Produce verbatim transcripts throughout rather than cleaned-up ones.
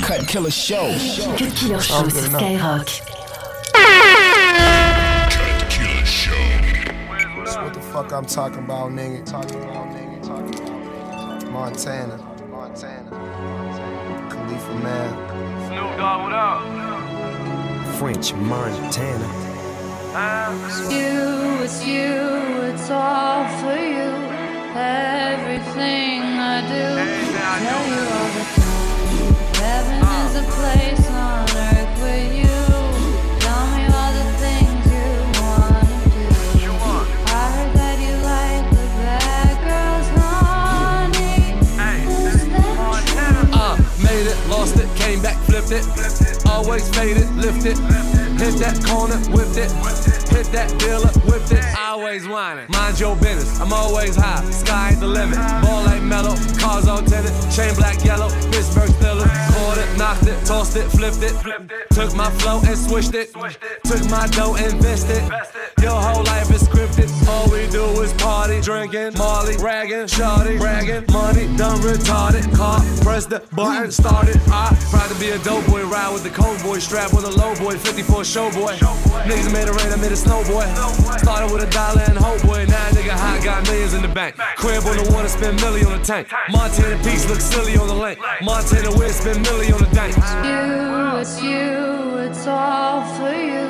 Cut Killer Show. Cut Killer Show sur Skyrock. Cut Killer Show. That's what the fuck I'm talking about, nigga. Talking about, nigga. Talking about, nigga. Montana. Montana. Khalifa Man. Snoop Dogg, what up? French Montana. It's you, it's you, it's all for you. Everything I do, tell you all the time. Heaven is a place on earth with you. Tell me all the things you wanna do. I heard that you like the bad girls, honey. Is that true? Uh, made it, lost it, came back, flipped it. Always faded, lifted. Hit that corner, whipped it. Hit that dealer, whipped it. Always whining. Mind your business, I'm always high. Sky ain't the limit. Ball ain't mellow, cars all tinted. Chain black, yellow, Pittsburgh Steelers. Caught it, knocked it, tossed it, flipped it. Took my flow and swished it. Took my dough and invested. Your whole life is scripted. All we do is party, drinking, Molly, ragging, shawty, bragging. Money done retarded. Car, press the button, started. I proud to be a dope boy, ride with the cold boy, strap with a low boy, fifty-four show boy. Niggas made it rain, I made it snow boy. Started with a dollar and hope boy, now nigga hot, got millions in the bank. Crib on the water, spend milli on the tank. Montana Peaks look silly on the lake. Montana Wind, spend milli on the dank. You, it's you, it's all for you.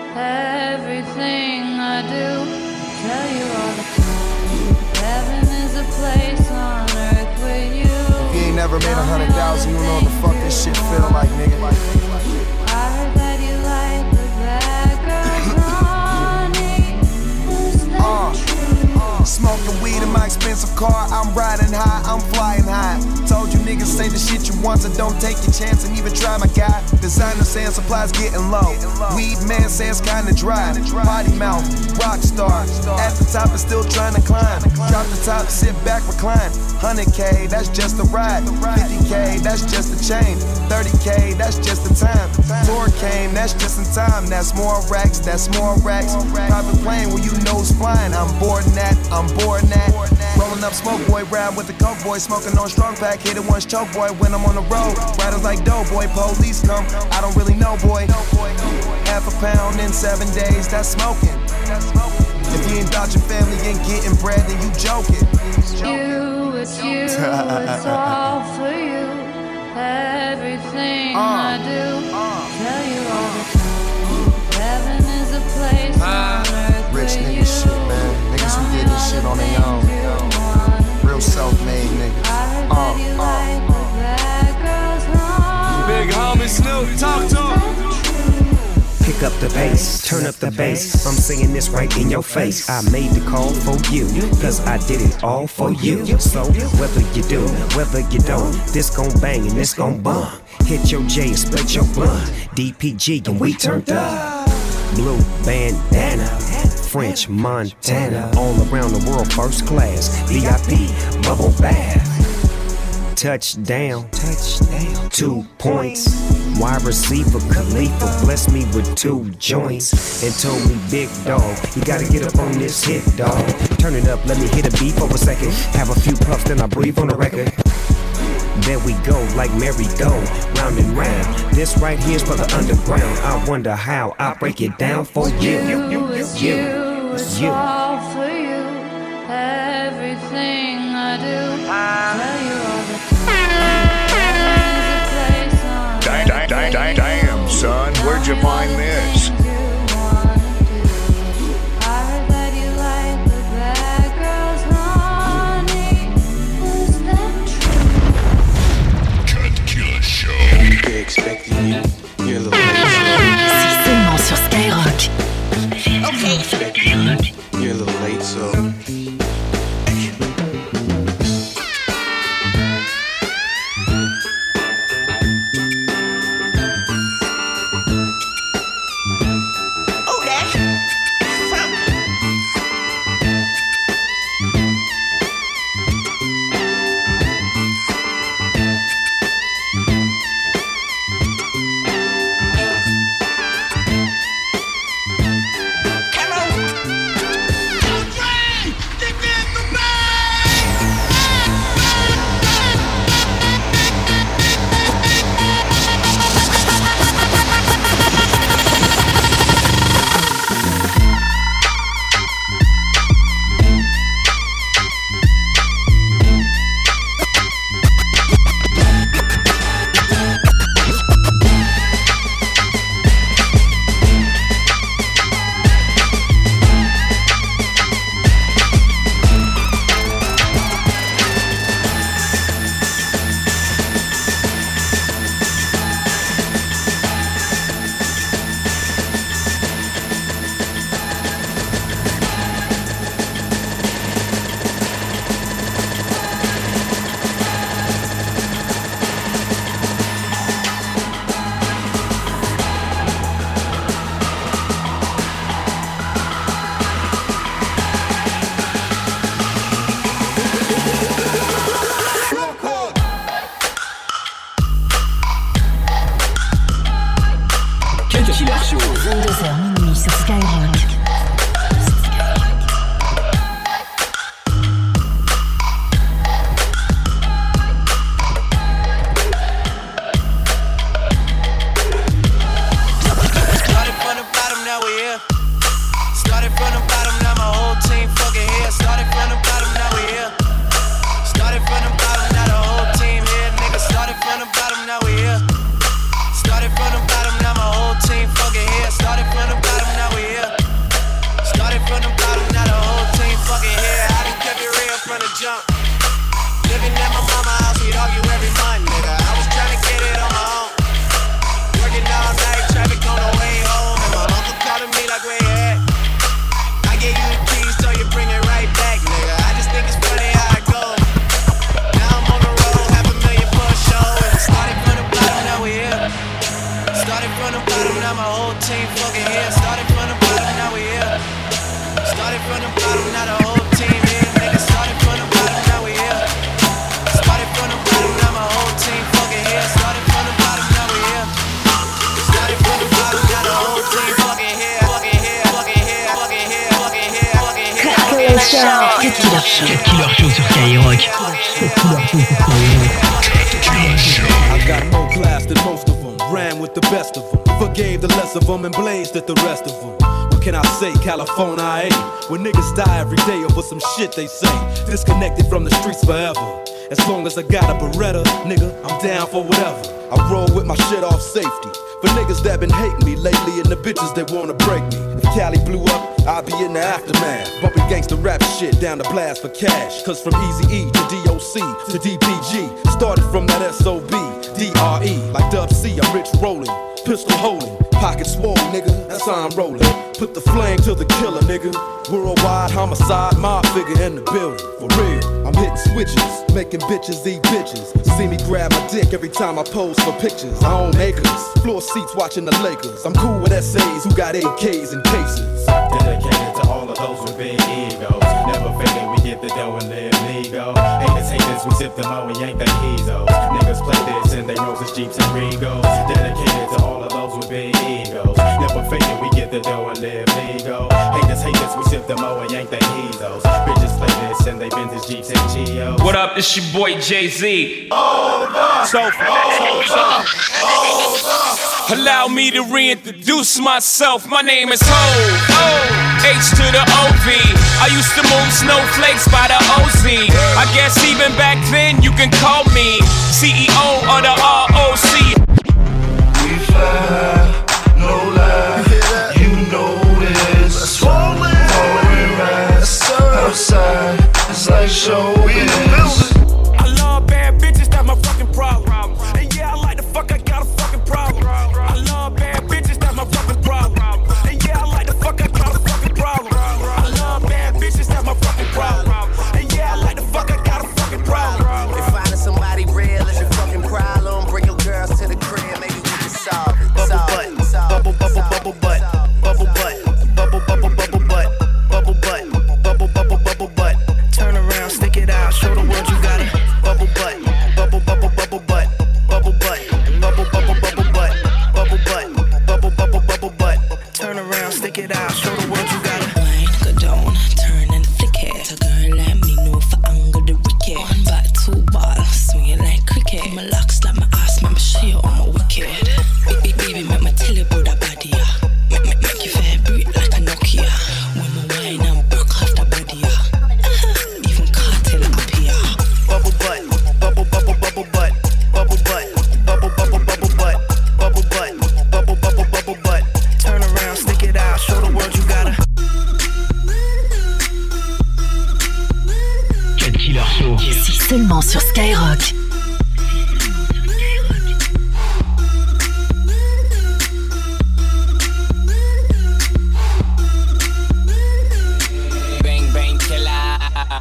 Everything I do, tell you all the time. Heaven is a place on earth with you. If you ain't never made a hundred thousand, you know what the fuck this shit feel like, nigga. I heard that you like the bad girls, honey. Is that Uh, true? Smoking weed in my expensive car, I'm riding high, I'm flying high. Told you niggas say the shit you want, so don't take your chance and even try my guy. Designer saying supplies getting low. Weed man says kinda dry. Potty mouth, rock star. At the top is still trying to climb. Drop the top, sit back, recline. one hundred K, that's just a ride. fifty K, that's just a chain. thirty K, that's just the time. Tour came, that's just in time. That's more racks, that's more racks. Private plane where you nose flying. I'm boarding that, I'm boarding that. Rolling up smoke boy, ride with the coke boy. Smoking on strong pack, hit it once choke boy. When I'm on the road, riders like dope boy. Police come, I don't really know boy. Half a pound in seven days, that's smoking. If you ain't about your family ain't getting bread, then you joking. You, it's you, it's all for you. Everything I do, tell you all the time. Heaven is a place on earth Rich with nigga you. shit, man. Niggas who did this shit on their own. Real self-made niggas. Uh, uh, uh. Big homie Snoop, talk to him. Pick up the pace, turn up the bass. I'm singing this right in your face. I made the call for you, cause I did it all for you. So whether you do, whether you don't, this gon' bang and this gon' bump. Hit your J and split your blunt. D P G and we turned up. Blue bandana, French Montana. All around the world first class. V I P, bubble bath. Touchdown, touchdown, two points. Wide receiver Khalifa blessed me with two joints and told me, big dog, you gotta get up on this hit, dog. Turn it up, let me hit a beat for a second. Have a few puffs, then I breathe on the record. There we go, like merry-go, round and round. This right here's for the underground. I wonder how I break it down for you. You, it's you, it's you. all for you. Everything I do, tell you all the time. Dang, dang, dang, dang, damn, son, where'd you find this? Cut Killer Show. Expecting you, you're a little C'est seulement sur Skyrock. late. You're a little late, so. call you every month, nigga. I was trying to get it on my own. Working all night, traffic on the way home. And my uncle calling me like, where you at? I gave you the keys, so you bring it right back, nigga. I just think it's funny how it goes. Now I'm on the road, half a million for a show. And it started from the bottom, now we here. Started from the bottom, now my whole team fucking here. Started from the bottom, now we here. Started from the bottom, now the whole team here. Nigga, started from the bottom, now we here. Started from the bottom, now my whole team fucking here. Started from the bottom, now we here. Started from the bottom, now the whole team fucking here. Fucking here, fucking here, fucking here, fucking here, fucking here. Cut Killer Show. Cut Killer Show. Cut Killer Show sur Skyrock. I got more class than most of them. Ran with the best of them. Forgave the less of them and blazed at the rest of them. What can I say? California, I ain't. When niggas die every day over some shit they say. Disconnected from the streets forever. As long as I got a Beretta, nigga, I'm down for whatever. I roll with my shit off safety. For niggas that been hating me lately and the bitches that wanna break me. If Cali blew up, I'll be in the aftermath. Bumping gangsta rap shit down the blast for cash. Cause from Eazy-E to D O C to D P G. Started from that S O B, D R E. Like Dub C, I'm rich rolling. Pistol holding, pocket swole, nigga, that's how I'm rolling. Put the flame to the killer, nigga. Worldwide homicide, mob figure in the building. For real, I'm hitting switches, making bitches eat bitches. See me grab my dick every time I pose for pictures. I own acres, floor seats watching the Lakers. I'm cool with S As who got A Ks and cases. Dedicated to all of those with big egos. Never fading, we get the dough and live legal. Haters hate this, we sip them out, we yank the heezos. Niggas play this in they roses, jeeps, and regos. Dedicated to all of those with big egos. Never faking, we get the dough and live legal. Haters hate this, we sip them out and yank the heezos. Bitches play this in they vintage jeeps and Geos. What up, it's your boy Jay-Z. Oh, so, so, so, so. Allow me to reintroduce myself. My name is Ho, O, H to the O V. I used to move snowflakes by the O Z. I guess even back then you can call me C E O of the R O C. We fly, no lie, you know this. Swollen, foreign rise, outside, it's like showbiz. I love bad bitches, that's my fucking problem. And yeah, I like the fuck, I got a fucking problem. I love bad bitches, that's my fucking problem. And yeah, I like the fuck, I got a fucking problem. I love bad bitches, that's my fucking problem. And yeah, I like the fuck, I got a fucking problem. If finding somebody real is your fucking problem, bring your girls to the crib, maybe we can solve it. Bubble butt, bubble bubble bubble butt, bubble butt, bubble bubble bubble butt, bubble butt, bubble bubble bubble butt. Turn around, stick it out, show the world you got it. Bubble butt, bubble bubble bubble butt, bubble butt, bubble bubble bubble butt, bubble butt, bubble bubble bubble butt. Turn around, stick it out, show the world you got it. Wine, go down, turn and flick it. A girl let me know for angle the wicket. One back, two ball, swing it like cricket. My locks like my ass, make me show you all my wicked. Baby, baby, make me tell you about that body, yeah. Make, make, make you vibrate like a Nokia. When my wine and broke off the body, yeah. Even cartel up here. Bubble butt, bubble bubble bubble butt, bubble butt, bubble bubble bubble butt, bubble butt, bubble bubble bubble butt. Turn around, stick it out, show the world you got it. Cut Killer Show. C'est seulement sur Skyrock. Bang, bang, killer.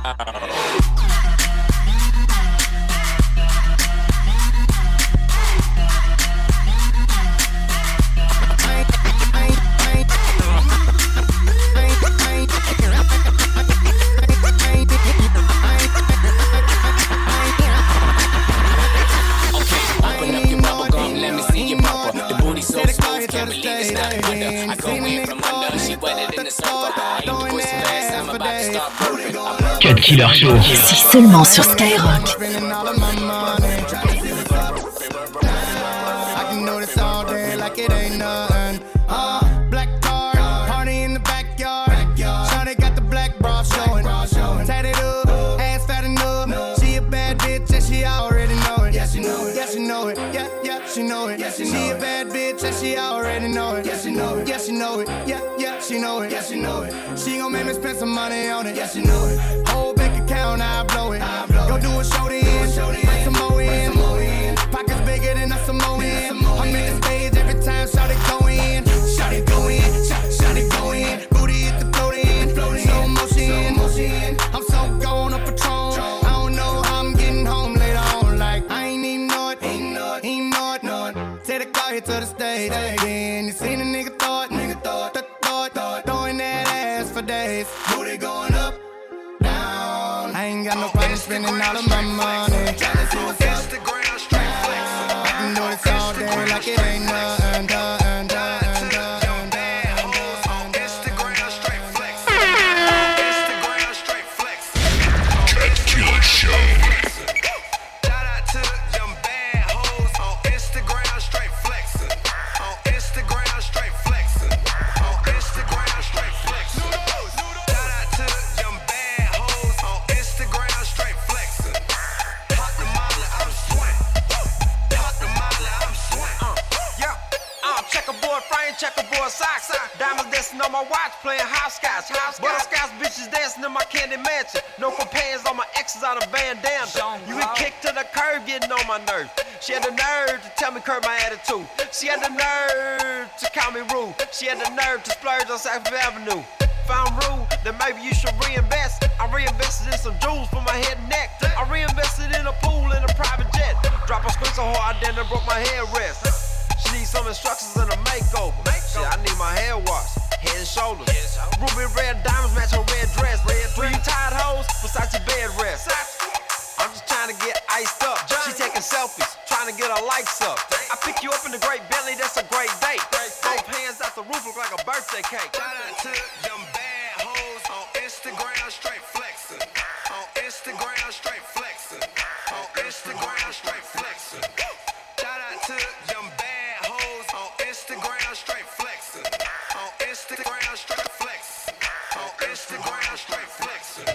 Cut Killer Show. C'est seulement sur Skyrock. I can notice all day like it ain't nothing. Uh, black car, party in the backyard. Shawty got the black bra showing. Tatted up, ass fat enough. She a bad bitch and she already know it. Yeah, she know it. Yeah, she know it. Yeah, yeah, she know it. Yeah, she a bad bitch and she already know it. Yeah, she know it. Yeah, she know it. Yeah, yeah, she know it. Yeah, she know it. She gon' make me spend some money on it. Yeah, she know it. Whole bank account account, I blow it. Go do a show then, bring some more in. Pockets bigger than a Samoan. I'm in the stage every time, shout it go in. Shout it go in, shout, shout it go in. Booty hit the float in, slow motion. I'm so gone up Patron. I don't know how I'm getting home later on. Like, I ain't even know it, ain't know it, ain't know it, know it. Take the car here to the stage. Then you seen a nigga thought, nigga thought, th- thought, thought, throwing that ass for days. Booty going up, down. I ain't got no problem spending all of my money. Tryna see what's up. I can do this all day like it ain't nothing, nothing, nothing, nothing. Checkerboard socks, diamonds dancing on my watch, playing hopscotch. Butterscotch bitches dancing in my candy mansion. No companions on my exes out of Van Damme. You get kicked to the curb, getting on my nerves. She had the nerve to tell me curb my attitude. She had the nerve to call me rude. She had the nerve to splurge on Sackville Avenue. If I'm rude, then maybe you should reinvest. I reinvested in some jewels for my head and neck. I reinvested in a pool and a private jet. Drop a screen so hard, then I broke my headrest. She needs some instructions and a makeover. Shit, I need my hair washed, head and shoulders. Ruby red diamonds match her red dress. Three tied hoes, Versace bed rest. I'm just trying to get iced up. She taking selfies, trying to get her likes up. I pick you up in the great Bentley, that's a great date. Both hands out the roof look like a birthday cake. Shout out to them bad hoes on Instagram, straight flexing. On Instagram, straight flexing. On Instagram, straight flexing. Shout out to them bad hoes on Instagram, straight flexing. On Instagram, straight flexing. On Instagram, straight flexing.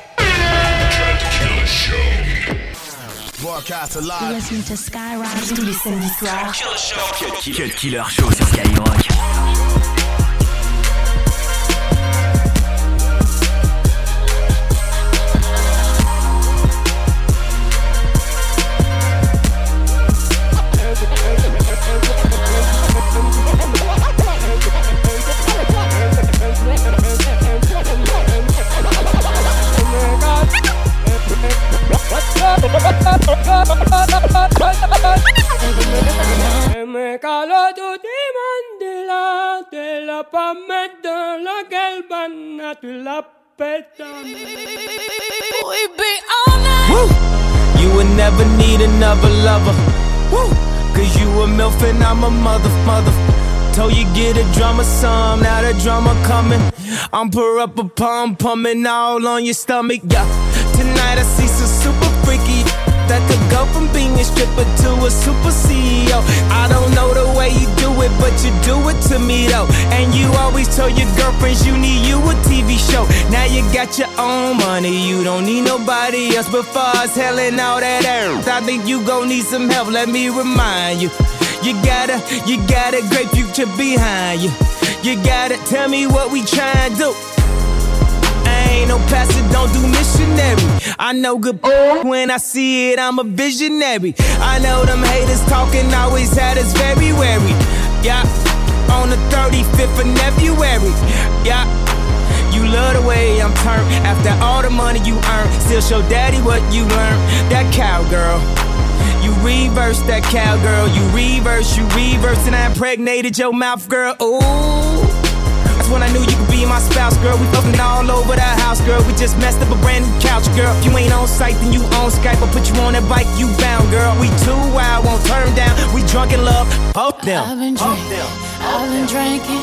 Broadcast live. Listen to Skyrock tous les samedis soirs. Cut Killer Show sur Skyrock. Me calo tu timandila, te la pa mettre la galbana, tu la pétales. We be all night. Woo! You would never need another lover. Woo! Cause you a MILF and I'm a mother, mother. Told you get a drama some, now the drama coming. I'm pour up a pum, pumping all on your stomach, yeah. Tonight I see some super freaky that could go from being a stripper to a super C E O. I don't know the way you do it, but you do it to me though. And you always told your girlfriends you need you a T V show. Now you got your own money, you don't need nobody else. But far as hell and all that earth, I think you gon' need some help, let me remind you. You gotta, you got a great future behind you. You gotta tell me what we tryin' to do. Ain't no pastor, don't do missionary. I know good when I see it, I'm a visionary. I know them haters talking always had us very wary. Yeah, on the thirty-fifth of February. Yeah, you love the way I'm turned. After all the money you earn, still show daddy what you learned. That cowgirl, you reverse that cowgirl. You reverse, you reverse, and I impregnated your mouth, girl. Ooh. When I knew you could be my spouse, girl. We fucking all over the house, girl. We just messed up a brand new couch, girl. If you ain't on site, then you on Skype. I'll put you on that bike, you bound, girl. We too wild, won't turn down. We drunk in love, both them. I've been drinking, I've been drinking.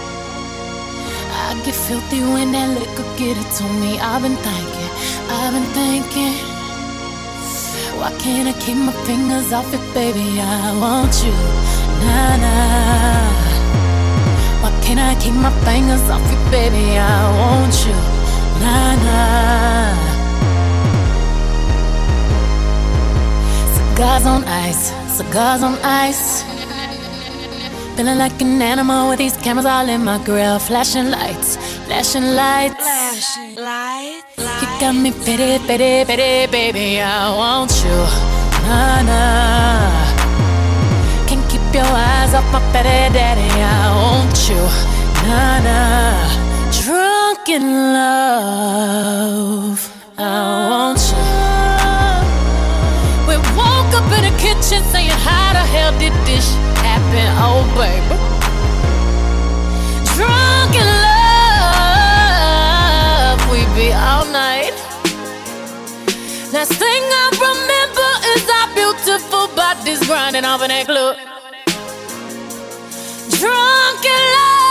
I get filthy when that liquor get it to me. I've been thinking, I've been thinking. Why can't I keep my fingers off it, baby? I want you, nah, nah. Why can't I keep my fingers off you, baby? I want you, nah, nah. Cigars on ice, cigars on ice. Feeling like an animal with these cameras all in my grill. Flashing lights, Flashing lights, flashing lights. You got me pity, pity, pity, baby. I want you, nah nah. Can't keep your eyes off my pity, daddy. I want you, nah nah. Drunk in love, I want you. We woke up in the kitchen saying, how the hell did this happen? Oh baby, drunk in love. We be all night. Last thing I remember is our beautiful bodies grinding off in that club. Drunk in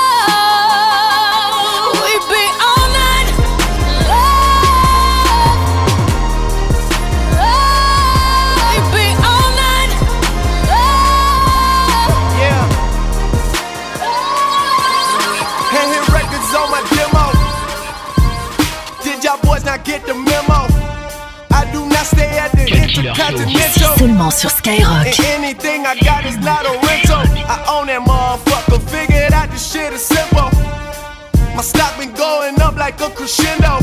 love. We be all night. Love. Love. We be all night. Love. Yeah. Hand hit records on my demo. Did y'all boys not get the memo? I do not stay at the Intercontinental. Seulement sur Skyrock. And anything I got is not a rental. I own that motherfucker. Figured out this shit is simple. My stock been going up like a crescendo.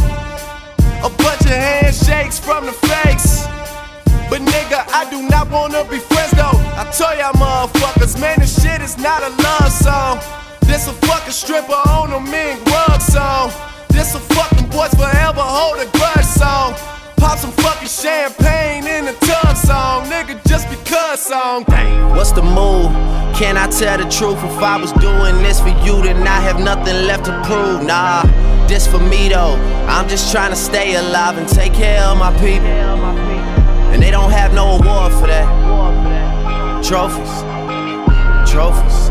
A bunch of handshakes from the fakes. But nigga, I do not wanna be friends though. I told y'all motherfuckers, man, this shit is not a love song. This a fucking stripper on a mink rug song. This a fucking boys forever hold a grudge song. Pop some fucking champagne in the tub song. Nigga, just because song. What's the move? Can I tell the truth? If I was doing this for you, then I have nothing left to prove. Nah, this for me though. I'm just trying to stay alive and take care of my people. And they don't have no award for that. Trophies, trophies.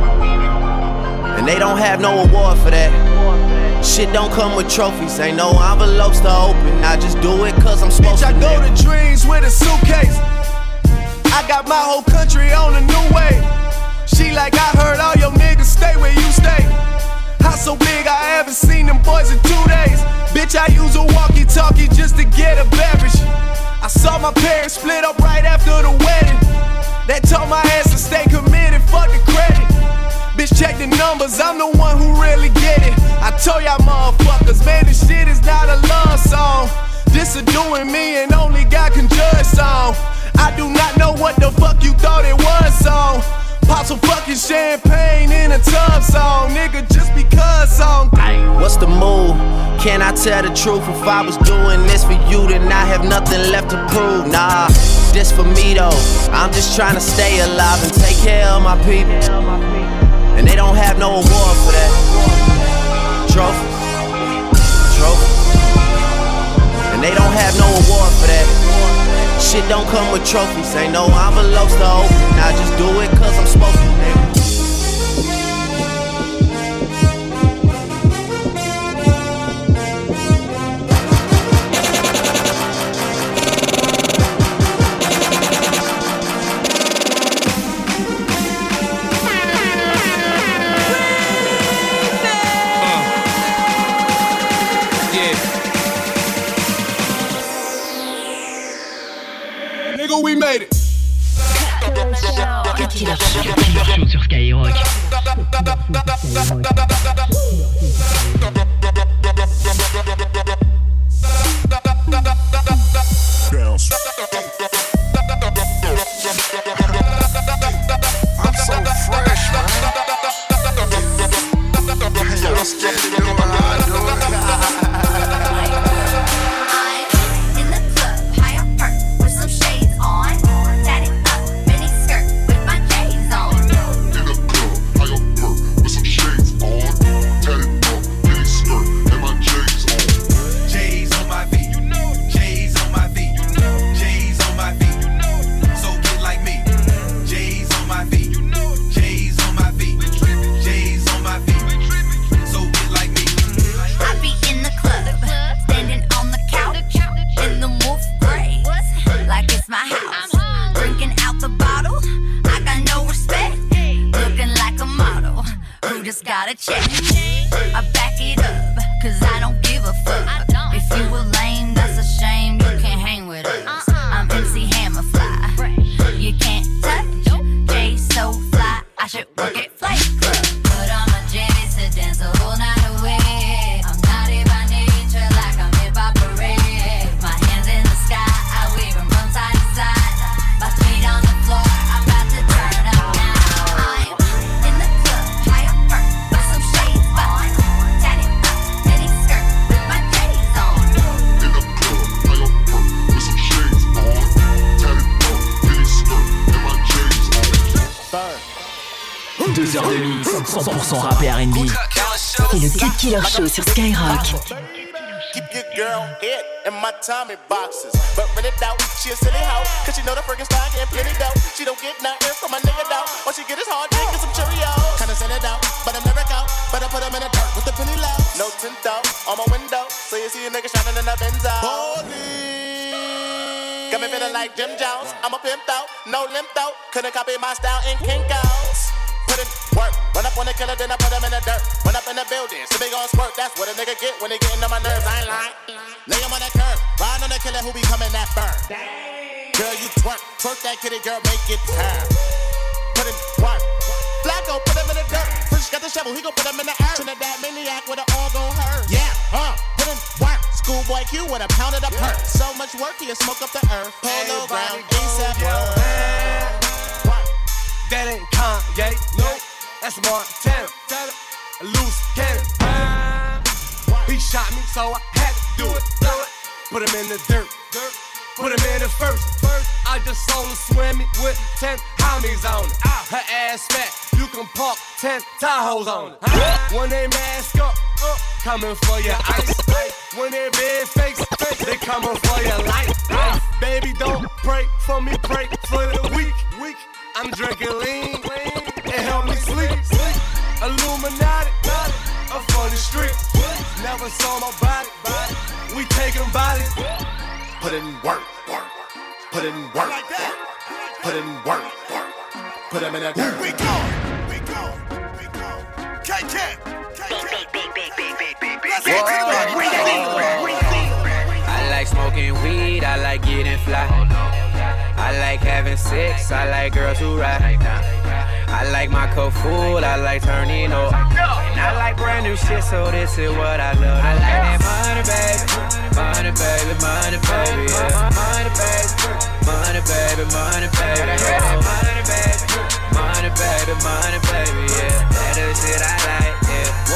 And they don't have no award for that. Shit don't come with trophies, ain't no envelopes to open. I just do it cause I'm supposed Bitch, to. I go to dreams with a suitcase. I got my whole country on a new way. She like, I heard all your niggas stay where you stay. House so big, I haven't seen them boys in two days. Bitch, I use a walkie-talkie just to get a beverage. I saw my parents split up right after the wedding. That told my ass to stay committed, fuck the credit. Bitch, check the numbers, I'm the one who really get it. I told y'all motherfuckers, man, this shit is not a love song. This a doing me and only God can judge song. I do not know what the fuck you thought it was song. Pop some fucking champagne in a tub song. Nigga, just because song. What's the move? Can I tell the truth? If I was doing this for you, then I have nothing left to prove. Nah, this for me though. I'm just trying to stay alive and take care of my people. And they don't have no award for that. Trophies, trophies. And they don't have no award for that. Shit don't come with trophies, ain't no envelopes to open. I just do it cause I'm supposed to, nigga. We made it. Cut Killer Show. Cut Killer Show sur Skyrock. I'm so fresh, man. Yo, let's get it going. Gotta check. I back it up, cause I don't give a fuck. If you were lame, that's a shame. You can't hang with us. I'm M C Hammer Fly. You can't touch. Jay so fly. I should work at Flight Club. Put on my jammies to dance the whole night away. I'm not vingt-deux heures de mix, cent pour cent rap et R and B. C'est le Cut Killer Show sur Skyrock. Keep your girl hit in my Tommy boxes. But rent it out, she a silly hoe. Cause she know the friggin' style getting plenty dough. She don't get nothing from a nigga though. All she get is hard dick and some Cheerios. Kinda send it out, but I'm never out. But I put them in the dirt with the penny low. No tint though, on my window. So you see a nigga shining in the Benzo. Holy. Got me feeling like Jim Jones. I'm a pimp though, no limp though. Couldn't copy my style in Kinko's. Put in work, run up on the killer, then I put him in the dirt. Run up in the building, so they gon' squirt. That's what a nigga get when they gettin' on my nerves. I ain't lying. Lay him on that curb, ride on the killer who be coming that burn. Girl, you twerk, twerk that kitty, girl, make it turn. Put in work, Flacco, put him in the dirt. Fresh got the shovel, he gon' put him in the earth. Trinidad maniac with it all gon' hurt. Yeah, uh, put in work. Schoolboy Q with a pound of the perk. So much work, he'll smoke up the earth. Polo ground, ASAP world. That ain't Kanye, nope, that's Montana, a loose cannon. He shot me, so I had to do it. Put him in the dirt, put him in the first. I just saw her swimming with ten homies on it. Her ass fat, you can park ten Tahoes on it. When they mask up, up coming for your ice. When they big fakes, they coming for your life. Baby, don't pray for me, pray for the weak. weak. I'm drinking lean, it help me sleep. Illuminati, up on the street. Never saw my body, we taking bodies. Put in work, work. Put in work, put in work, put him in that dirt. We go, we go, we go. K K, K K. I like smoking weed, I like getting fly. I like having sex, I like girls who ride. I like my cup full, I like turning up. And I like brand new shit, so this is what I love. I like that money, baby, money, baby, money, baby, yeah. Money, baby, money, baby, money, baby, yeah. Money, baby, money, baby, money, baby, yeah. That is shit I like, yeah.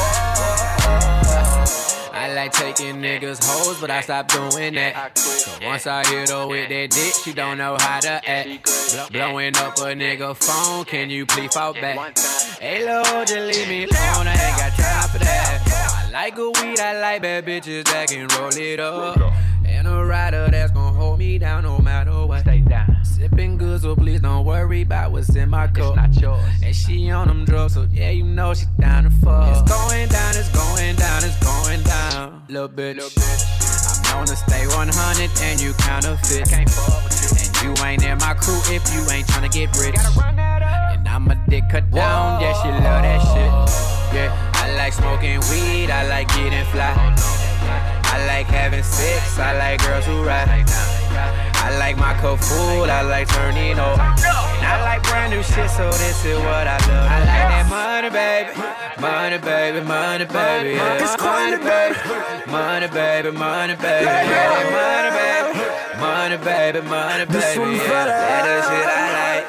I like taking niggas hoes, but I stopped doing that. So once I hit her with that dick, she don't know how to act. Blowing up a nigga phone, can you please fall back? Hey Lord, just leave me alone, I ain't got time for that. I like good weed, I like bad bitches that can roll it up. And a rider that's gon' hold me down no matter what. Stay down. Sipping good, so please don't worry about what's in my cup. It's not yours. And she on them drugs, so yeah, you know she down to fuck. It's going down, it's going down, it's going down. Little bitch, Little bitch. I'm known to stay one hundred and you counterfeit. I can't fuck with you. And you ain't in my crew if you ain't tryna get rich. And I'm a dick cut down, yeah, she love that shit. Yeah, I like smoking weed, I like getting fly. I like having sex, I like girls who ride. I like my cup full, I like turning up. And I like brand new shit, so this is what I love. I like that money, baby, money, baby, money, baby, yeah. Money, baby, money, baby, money, baby, yeah. Money, baby, money, baby, money, baby, yeah. That is shit I like,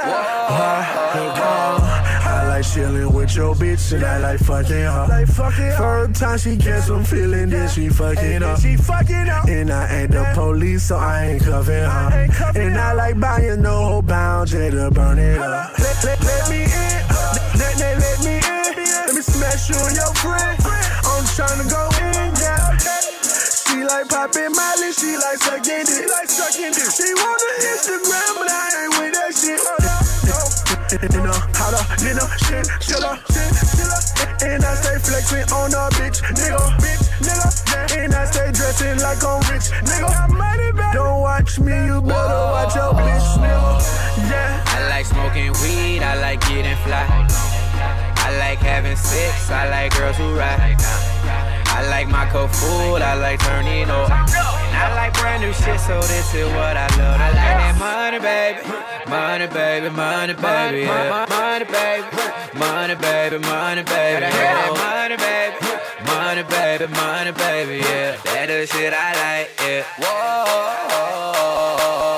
yeah. I like chillin' with your bitch and I like fucking her. Like fucking Third time she gets some feeling, then she fucking up. She fucking up. And I ain't the police, so I ain't cuffing her. And I like buying no whole bound, just to burn it up. Let, let, let me in, let, let, let me in. Let me smash you and your friend. I'm tryna go in, yeah. She like poppin' Molly, she like sucking dick. She like sucking dick. She wanna Instagram, but I ain't with that shit. You know, how to, you know, shit, chiller, shit, chiller. And I stay flexing on a bitch, nigga, bitch, nigga. And I stay dressing like I'm rich, nigga. Don't watch me, you better watch your bitch, nigga. Yeah. I like smoking weed, I like getting fly. I like having sex, I like girls who ride. I like my cup full, I like turning up. And I like brand new shit, so this is what I love. I like that money, baby, money, baby, money, baby, yeah. Money, baby, money, baby, money, baby, yeah. Money, baby, money, baby, money, baby, yeah. That is shit I like, yeah. Whoa.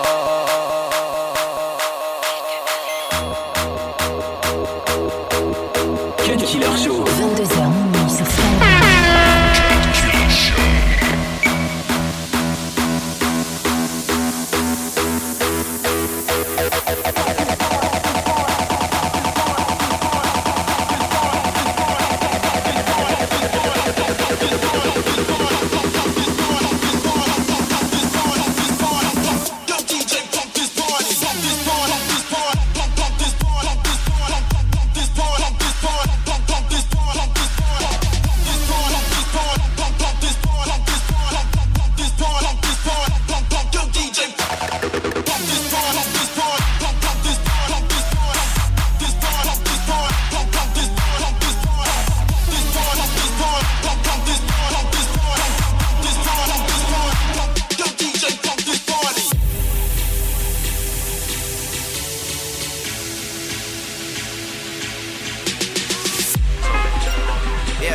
Cut Killer Show. vingt-deux heures minuit sur Skyrock.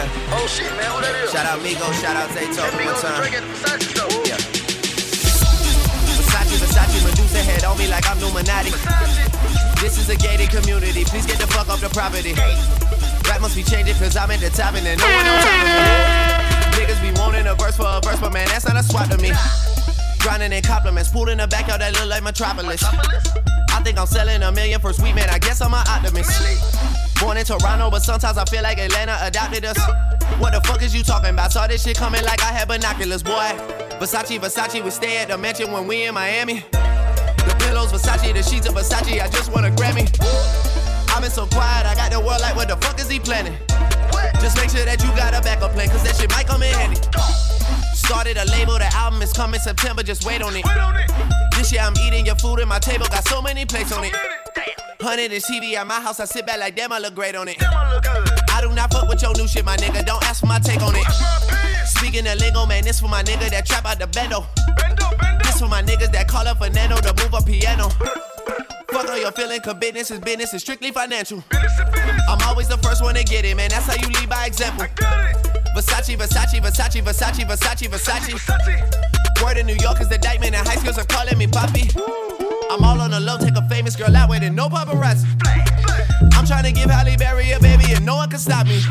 Yeah. Oh shit, man, who that is? Shout out Migo, shout out Zayto one time. Yeah. Versace, Versace, Medusa head on me like I'm Illuminati. This is a gated community, please get the fuck off the property. Rap must be changing cause I'm in the top and then no one on top of me. Niggas be wanting a verse for a verse, but man, that's not a swap to me. Grinding in compliments, pool in the backyard that look like Metropolis. I think I'm selling a million for sweet man, I guess I'm an optimist. Born in Toronto, but sometimes I feel like Atlanta adopted us. What the fuck is you talking about? Saw this shit coming like I had binoculars, boy. Versace, Versace, we stay at the mansion when we in Miami. The pillows, Versace, the sheets of Versace, I just want a Grammy. I've been so quiet, I got the world like, what the fuck is he planning? Just make sure that you got a backup plan, cause that shit might come in handy. Started a label, the album is coming September, just wait on it. This year I'm eating your food and my table got so many plates on it. Hundred inch T V at my house, I sit back like damn, I look great on it. I do not fuck with your new shit, my nigga, don't ask for my take on it. Speaking of lingo, man, this for my nigga that trap out the bendo. This for my niggas that call up Fernando to move a piano. Fuck all your feeling, cause business is business, it's strictly financial. I'm always the first one to get it, man, that's how you lead by example. Versace, Versace, Versace, Versace, Versace, Versace. Word in New York is the indictment and high schools are calling me Poppy. I'm all on the low, take a famous girl out with it, no paparazzi. I'm trying to give Halle Berry a baby and no one can stop me.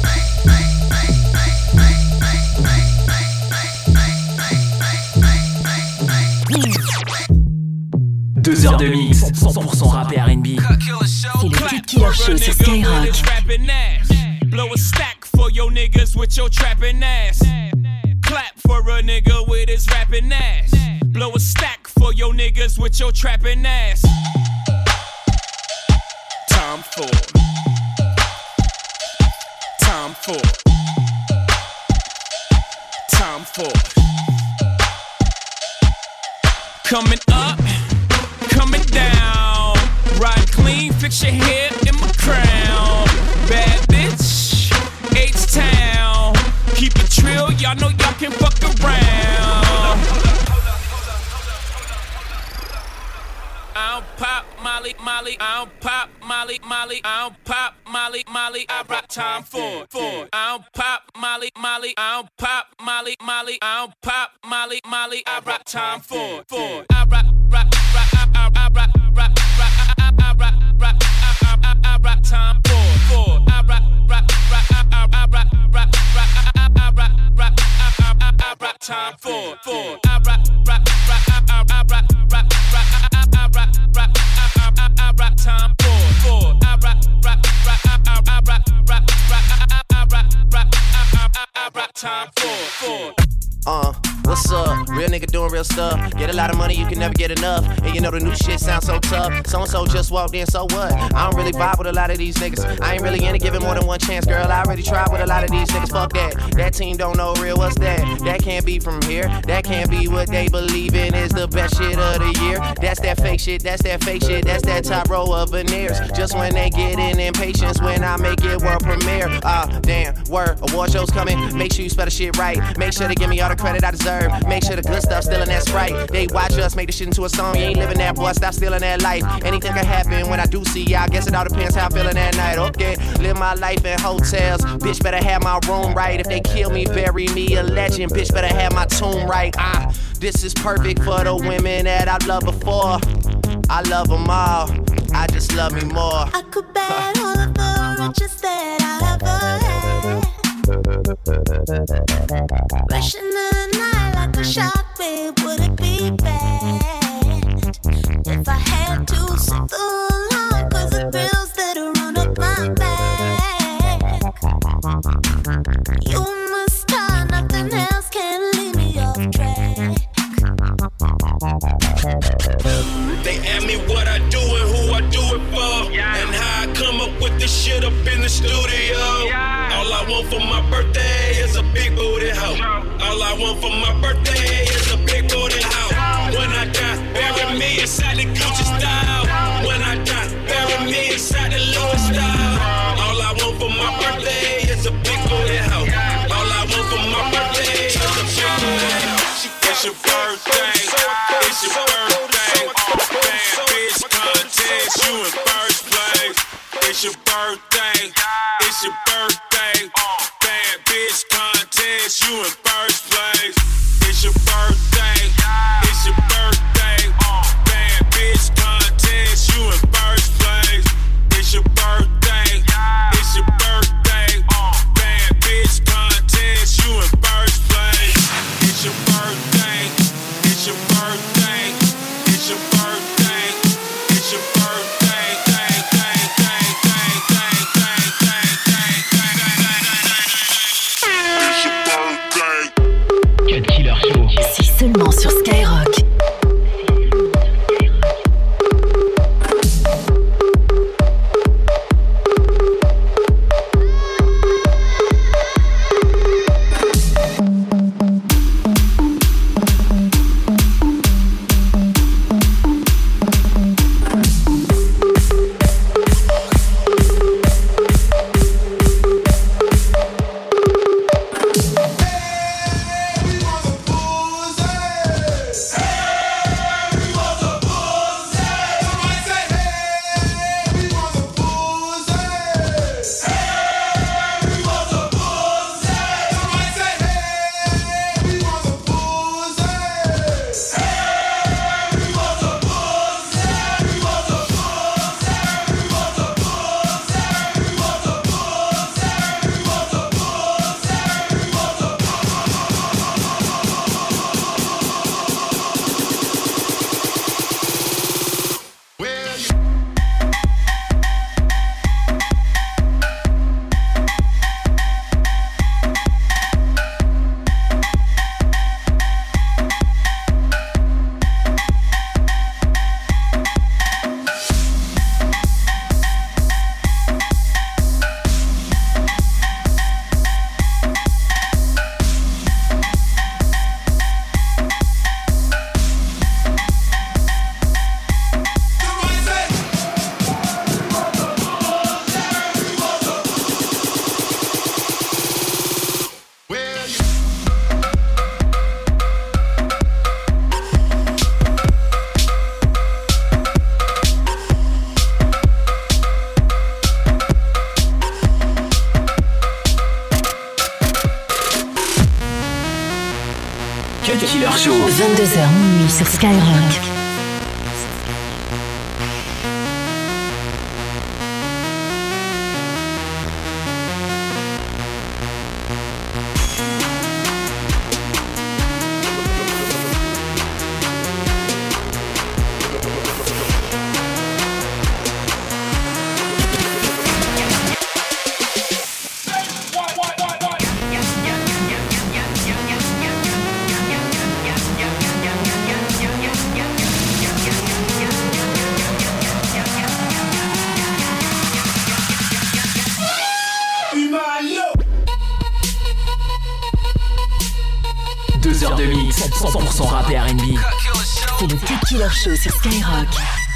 Deux heures de mix, cent pour cent rap et R and B. C'est le Cut Killer Show sur Skyrock. Blow a stack for your niggas with your trapping ass. Clap for a nigga with his rapping ass. Blow a stack for your niggas with your trapping ass. Time for. Time for. Time for. Coming up, coming down. Ride clean, fix your hair in my crown. Bad bitch, H-Town. Keep it trill, y'all know y'all can fuck around. I don't pop Molly, Molly. I don't pop Molly, Molly. I don't pop Molly, Molly. I rock time for, for. I don't pop Molly, Molly. I don't pop Molly, Molly. I don't pop Molly, Molly. I rock time for, for. I rock, rock, rock. I, I, I rock, rock, rock. I, I, I rock, rock. I, I, I rock time for, for. I rock, rock, rock. I, I, I rock, rock, rock. I, I, I rock, rock. I, I, I, I rock time for, for. I rock, rock, rock. I, I, I rock, rock, rock. I, I, I rock, rock. I, I, I rock time for, for. I rock, rock, rock. I, I, I rock, rock, rock. I, I, I rock, rock. I, I, I rock time for, for. Uh, what's up? Real nigga doing real stuff. Get a lot of money, you can never get enough. And you know the new shit sounds so tough. So-and-so just walked in, so what? I don't really vibe with a lot of these niggas. I ain't really into giving more than one chance, girl. I already tried with a lot of these niggas. Fuck that. That team don't know real, what's that? That can't be from here. That can't be what they believe in is the best shit of the year. That's that fake shit, that's that fake shit. That's that top row of veneers. Just when they get in impatience when I make it world premiere. Ah, uh, damn, word, award show's coming. Make sure you spell the shit right. Make sure to give me all the credit I deserve. Make sure the good stuff still in that Sprite. They watch us make this shit into a song. You ain't living that, boy. Stop stealing that life. Anything can happen when I do see ya. I guess it all depends how I'm feeling that night. Okay, live my life in hotels. Bitch better have my room right. If they kill me, bury me a legend. Bitch better have my tomb right. Ah, this is perfect for the women that I loved before. I love them all. I just love me more. I could bet all of the riches that I ever had. Rushing the night like a shark, babe, would it be bad if I had to sit the line? Cause the thrills that run up my back. You must start, nothing else can leave me off track. They ask me what I do and who I do it for, yeah. And how I come up with this shit up in the studio, yeah. All I want for my birthday is a big booty hoe. All I want for my birthday is a big booty hoe. When I die, bury me inside the Gucci style. When I die, bury me inside the Louis style. All I want for my birthday is a big booty hoe. All I want for my birthday is a big booty hoe. It's your birthday, it's your birthday. Bad bitch contest, you in first place. It's your birthday, it's your birthday. Bad bitch contest, you in first place. It's your birthday, it's your birthday. Bad bitch contest, you in first place. It's your birthday, it's your birthday. Bad bitch contest, you in first place. It's your birthday, it's your birthday, it's your birthday, it's your birthday. Dang, dang, dang, dang, dang, dang, dang, dang, dang, dang. It's your birthday. Cut Killer Show. C'est seulement sur Skyrock. Killer Show. vingt-deux heures minuit sur Skyrock. deux heures de mix, cent pour cent rap et R and B. C'est le Cut Killer Show sur Skyrock.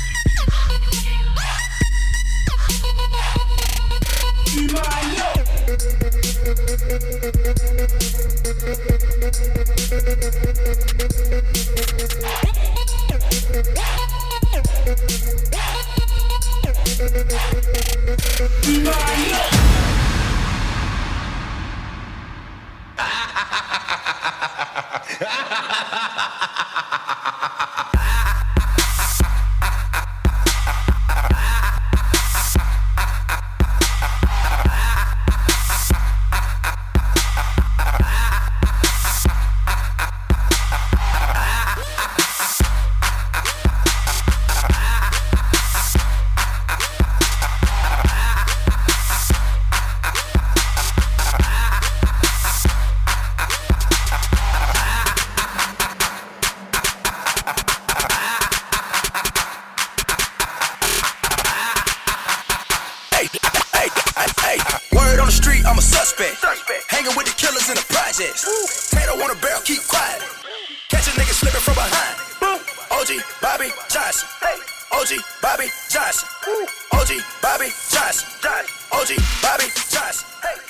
Hanging with the killers in the projects. Tato on a barrel, keep quiet. Catch a nigga slipping from behind. O G Bobby Johnson. O G Bobby Johnson. O G Bobby Johnson. O G Bobby Johnson.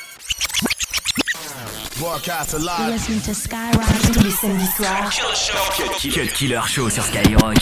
Broadcast live. Listen to Skyrock tous les samedis soirs. Cut Killer Show sur Skyrock.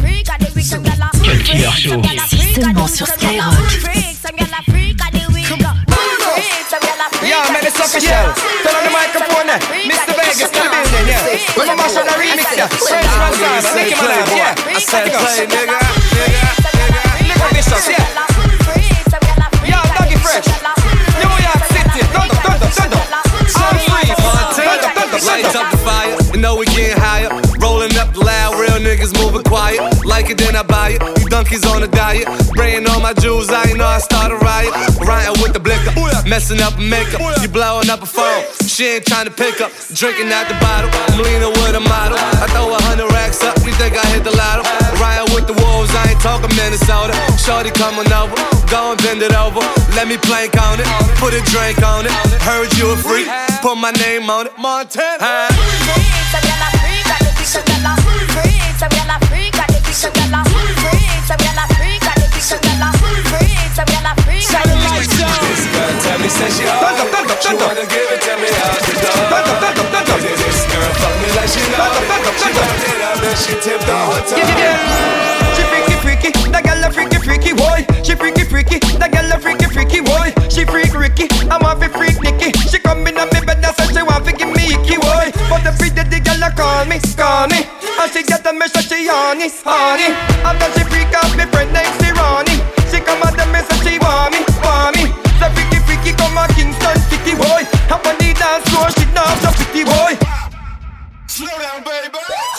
Cut Killer Show. Ici seulement sur Skyrock. Yeah, man, it's official. Turn on the microphone there. Mister Vegas to the building, yeah. When I mash on the remix, yeah. Fresh man time, make him alive, yeah. I said play, nigga, nigga, nigga. Nigga vicious, yeah. Yeah, Doggy Fresh. New York City, thunder, thunder, thunder. All free, thunder, thunder, Lights thunder. up the fire, you know we getting higher. Rolling up loud, real niggas moving quiet. Like it, then I buy it. You donkeys on a diet. Spraying all my jewels, I ain't know I start a riot. Riding with the blicker, messing up makeup. You blowing up a phone, she ain't trying to pick up. Drinking out the bottle, I'm leaning with a model. I throw a hundred racks up, you think I hit the lotto? Riding with the wolves, I ain't talking Minnesota. Shorty coming over, go and bend it over. Let me plank on it, put a drink on it. Heard you a freak, put my name on it. Montana. Tell me, say she hard. She wanna give it to me out the door. This girl fuck me like she know it. She fucked it up and she tipped the whole time. She freaky freaky, that girl a freaky freaky boy. She freaky freaky, that girl a freaky freaky boy. She freak Ricky, I'm a freak Nicky. She come in on me bed and say she want to give me icky boy. But every day the girl a call me, call me, and she get a message she honey, honey. After she freak out me friend named Ronnie. She come at the message she want me, want me. The freaky freaky come a Kingston City boy. Up on the dance floor, she now the pretty boy. Slow down, baby.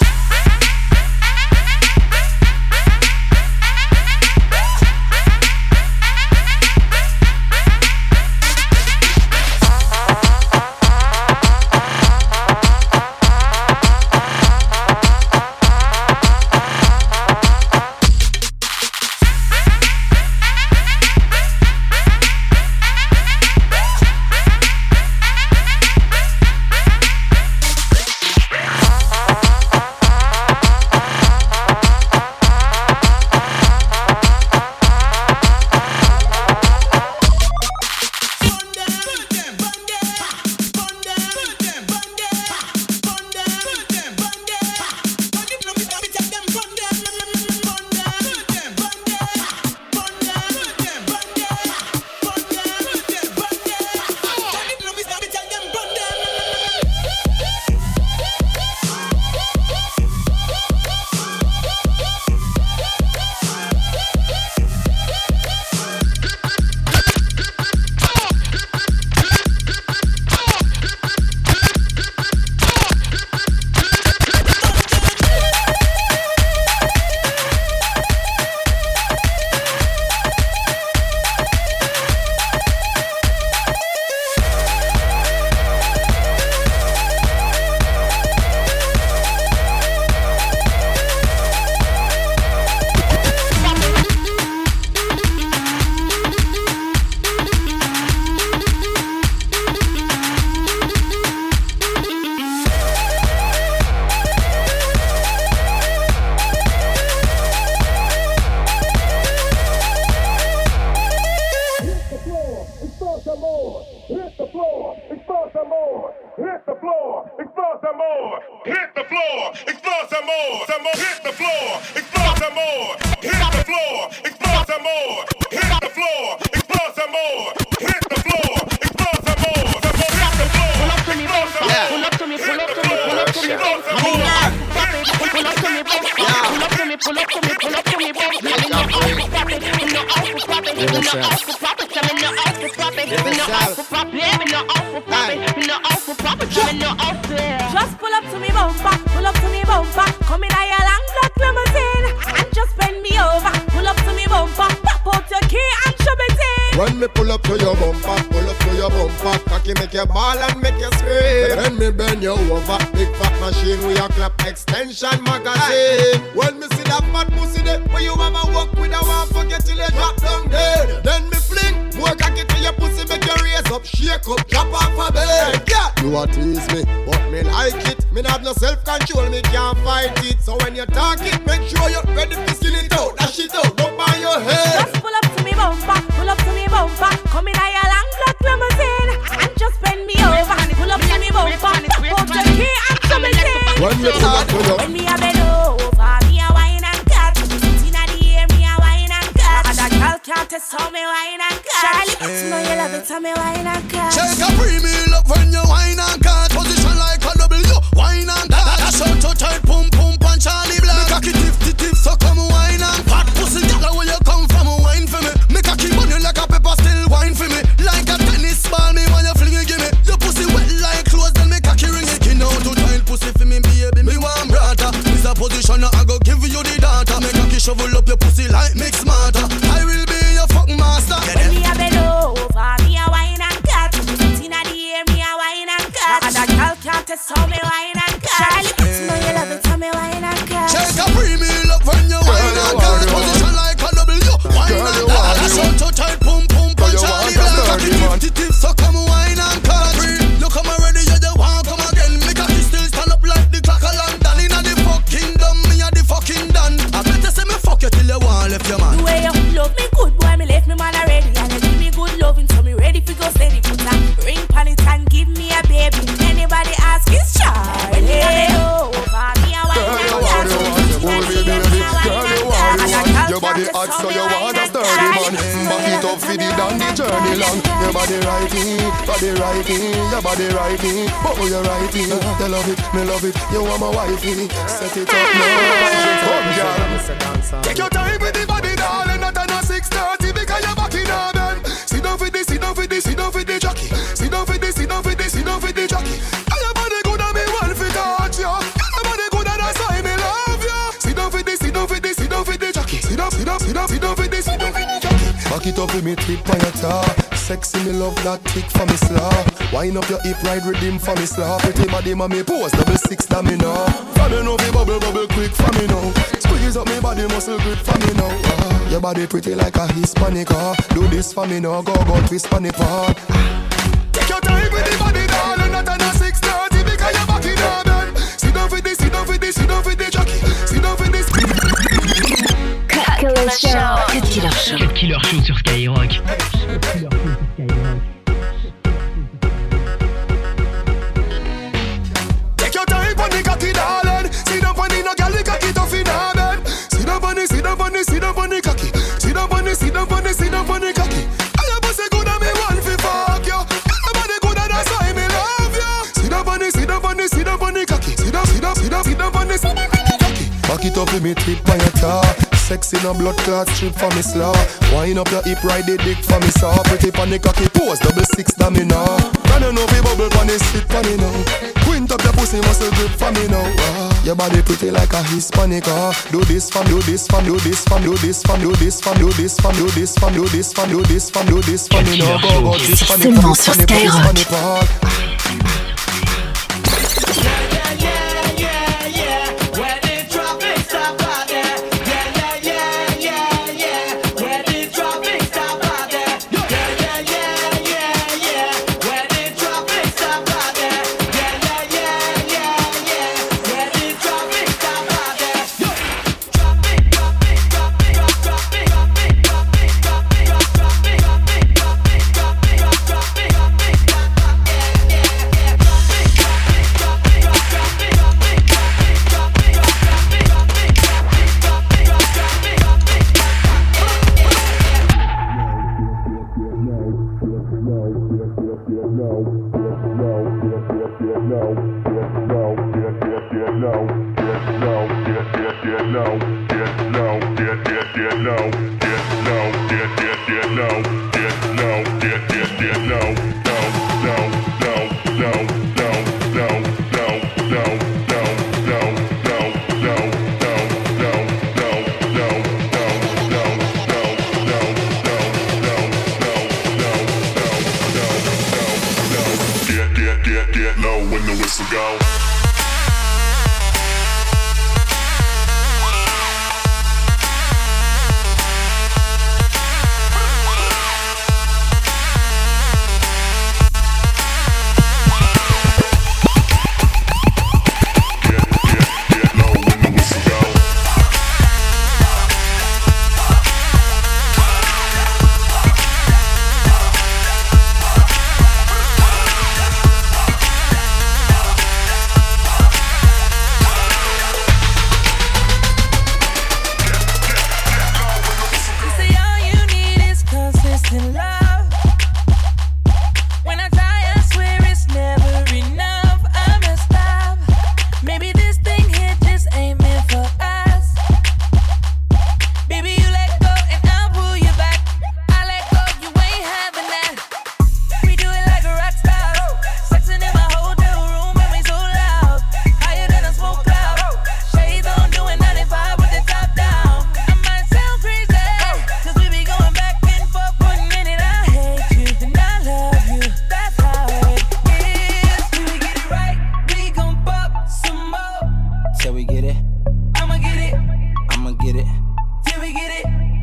Just pull up to me bumper, pull up to me bumper. Come in a your long black limousine and just bend me over. Pull up to me bumper, pop out your key and shove it in. When me pull up to your bumper, pull up to your bumper, cocky make you ball and make you scream. Then me bend you over, big fat machine with your clap extension magazine. When me see that fat pussy there, where you mama walk with a one forget till you drop down dead. Then me fling more cocky to your pussy, make you raise up, shake up, drop off a bed. Yeah, you a tease me, but me like it. Me not have no self-control, me can't fight it. So when you talk it, make sure you're ready to skin it out. That shit out, don't buy your head. Just pull up to me bumper, pull up to me bumper. Come in a your long black limousine and just bend me over. Pull up to me bumper, pop out your key and shove it in. When me pull up to you, when me a bend over, me a wine and cut. me wine and cut. Charlie, you know you love it, tell me wine and cut. Shake a premium up when you wine and cut. Position like a W, wine and cut. Dash out to tight, pum pum punch Charlie Black. Make a kid tip tip tip, so come wine and fat pussy. Girl, where you come from, wine for me. Make a keep on you like a pepper, still wine for me. Like a tennis ball, me when you fling it, give me. Your pussy wet like clothes, then make a key ring it. Skin out to tight pussy for me, baby. Me want brata. This a position, I go give you the data. Make a key shovel up your pussy like mix smarter. I will be your fuck master. When me a bend over, me a wine and cut. Inna the air, me a wine and cut. And a girl can't test how me wine and cut. Charlie, you know you love it, tell me wine and cut. Shake a premium up when you wine and cut. Position like a W, wine and cut. Dash out to tight, pum pum punch Charlie Black. Tip tip tip, so come wine and cut. You come already, you just want come again. Make a kiss still stand up like the clock of London. Inna the fucking dumb, me a the fucking done. I better say me fuck you till you want left your man. The way you love me good, boy, me left me man already. And you give me good loving, so me ready for go steady. Put a ring pon it and give me a baby. Anybody ask is Charlie. Me a bend over, me a wine and cut. Oh baby, baby, girl you want it. Your body hot so you want a sturdy man. Back it up for the down the journey long. Your body righty, body righty, your body righty. Oh you righty, you love it, me love it. You want my wifey, set it up now. Come girl, take your time with the body darling. Not at six thirty because you're back in our bed. Sit down for this, sit down for this, sit down for the jockey. Sit down for this, sit down for this, sit down for the jockey. Your body good and me want to touch you. Your body good and that's why me love you. Sit down for this, sit down for this, sit down for the jockey. Sit down, sit down, sit down, sit down for this, sit down for the jockey. Back it up with me tip on your tar. Sexy me love that tick for me slaw. Wind up your hip ride rhythm for me slaw. Pretty body mommy pose double six to me now. From you know me bubble bubble quick for me now. Squeeze up me body muscle grip for me now. Ah, your body pretty like a Hispanic ah. Do this for me now, go go twist for me part. Take your time with the body darling. Not at six thirty because you're back in our bed. Sit down for this, sit down for this, sit down for the jockey. Sit down for this. Cut Killer Show. Cut Killer Show. Cut Killer Show sur Skyrock. Take your time on the cocky darling. Sit down on the no girl, the cocky tough in her bed. Sit down on the, sit down on the, sit down on the cocky. Sit down on the, sit down on the, sit down on the cocky. I have a say good and me want fi fuck you. Your body good and that's why me love you. Sit down on the, sit down on the, sit down on the cocky. Sit down, sit down, sit down, sit down on the, sit down on the cocky. Back it up with me tip on your tar. Sexy no blood clot strip for me slaw. Wind up your hip ride the dick for me saw. Pretty pon the cocky pose double six to me now. Can you know be bubble pon the sit pon me now. Quint up your pussy muscle grip for me now. Ah, your body pretty like a Hispanic ah. Do this fam, do this fam, do this fam, do this fam, do this fam, do this fam, do this fam, do this fam, do this fam, do this fam, me now. Go go this fam, this fam, this fam, this fam.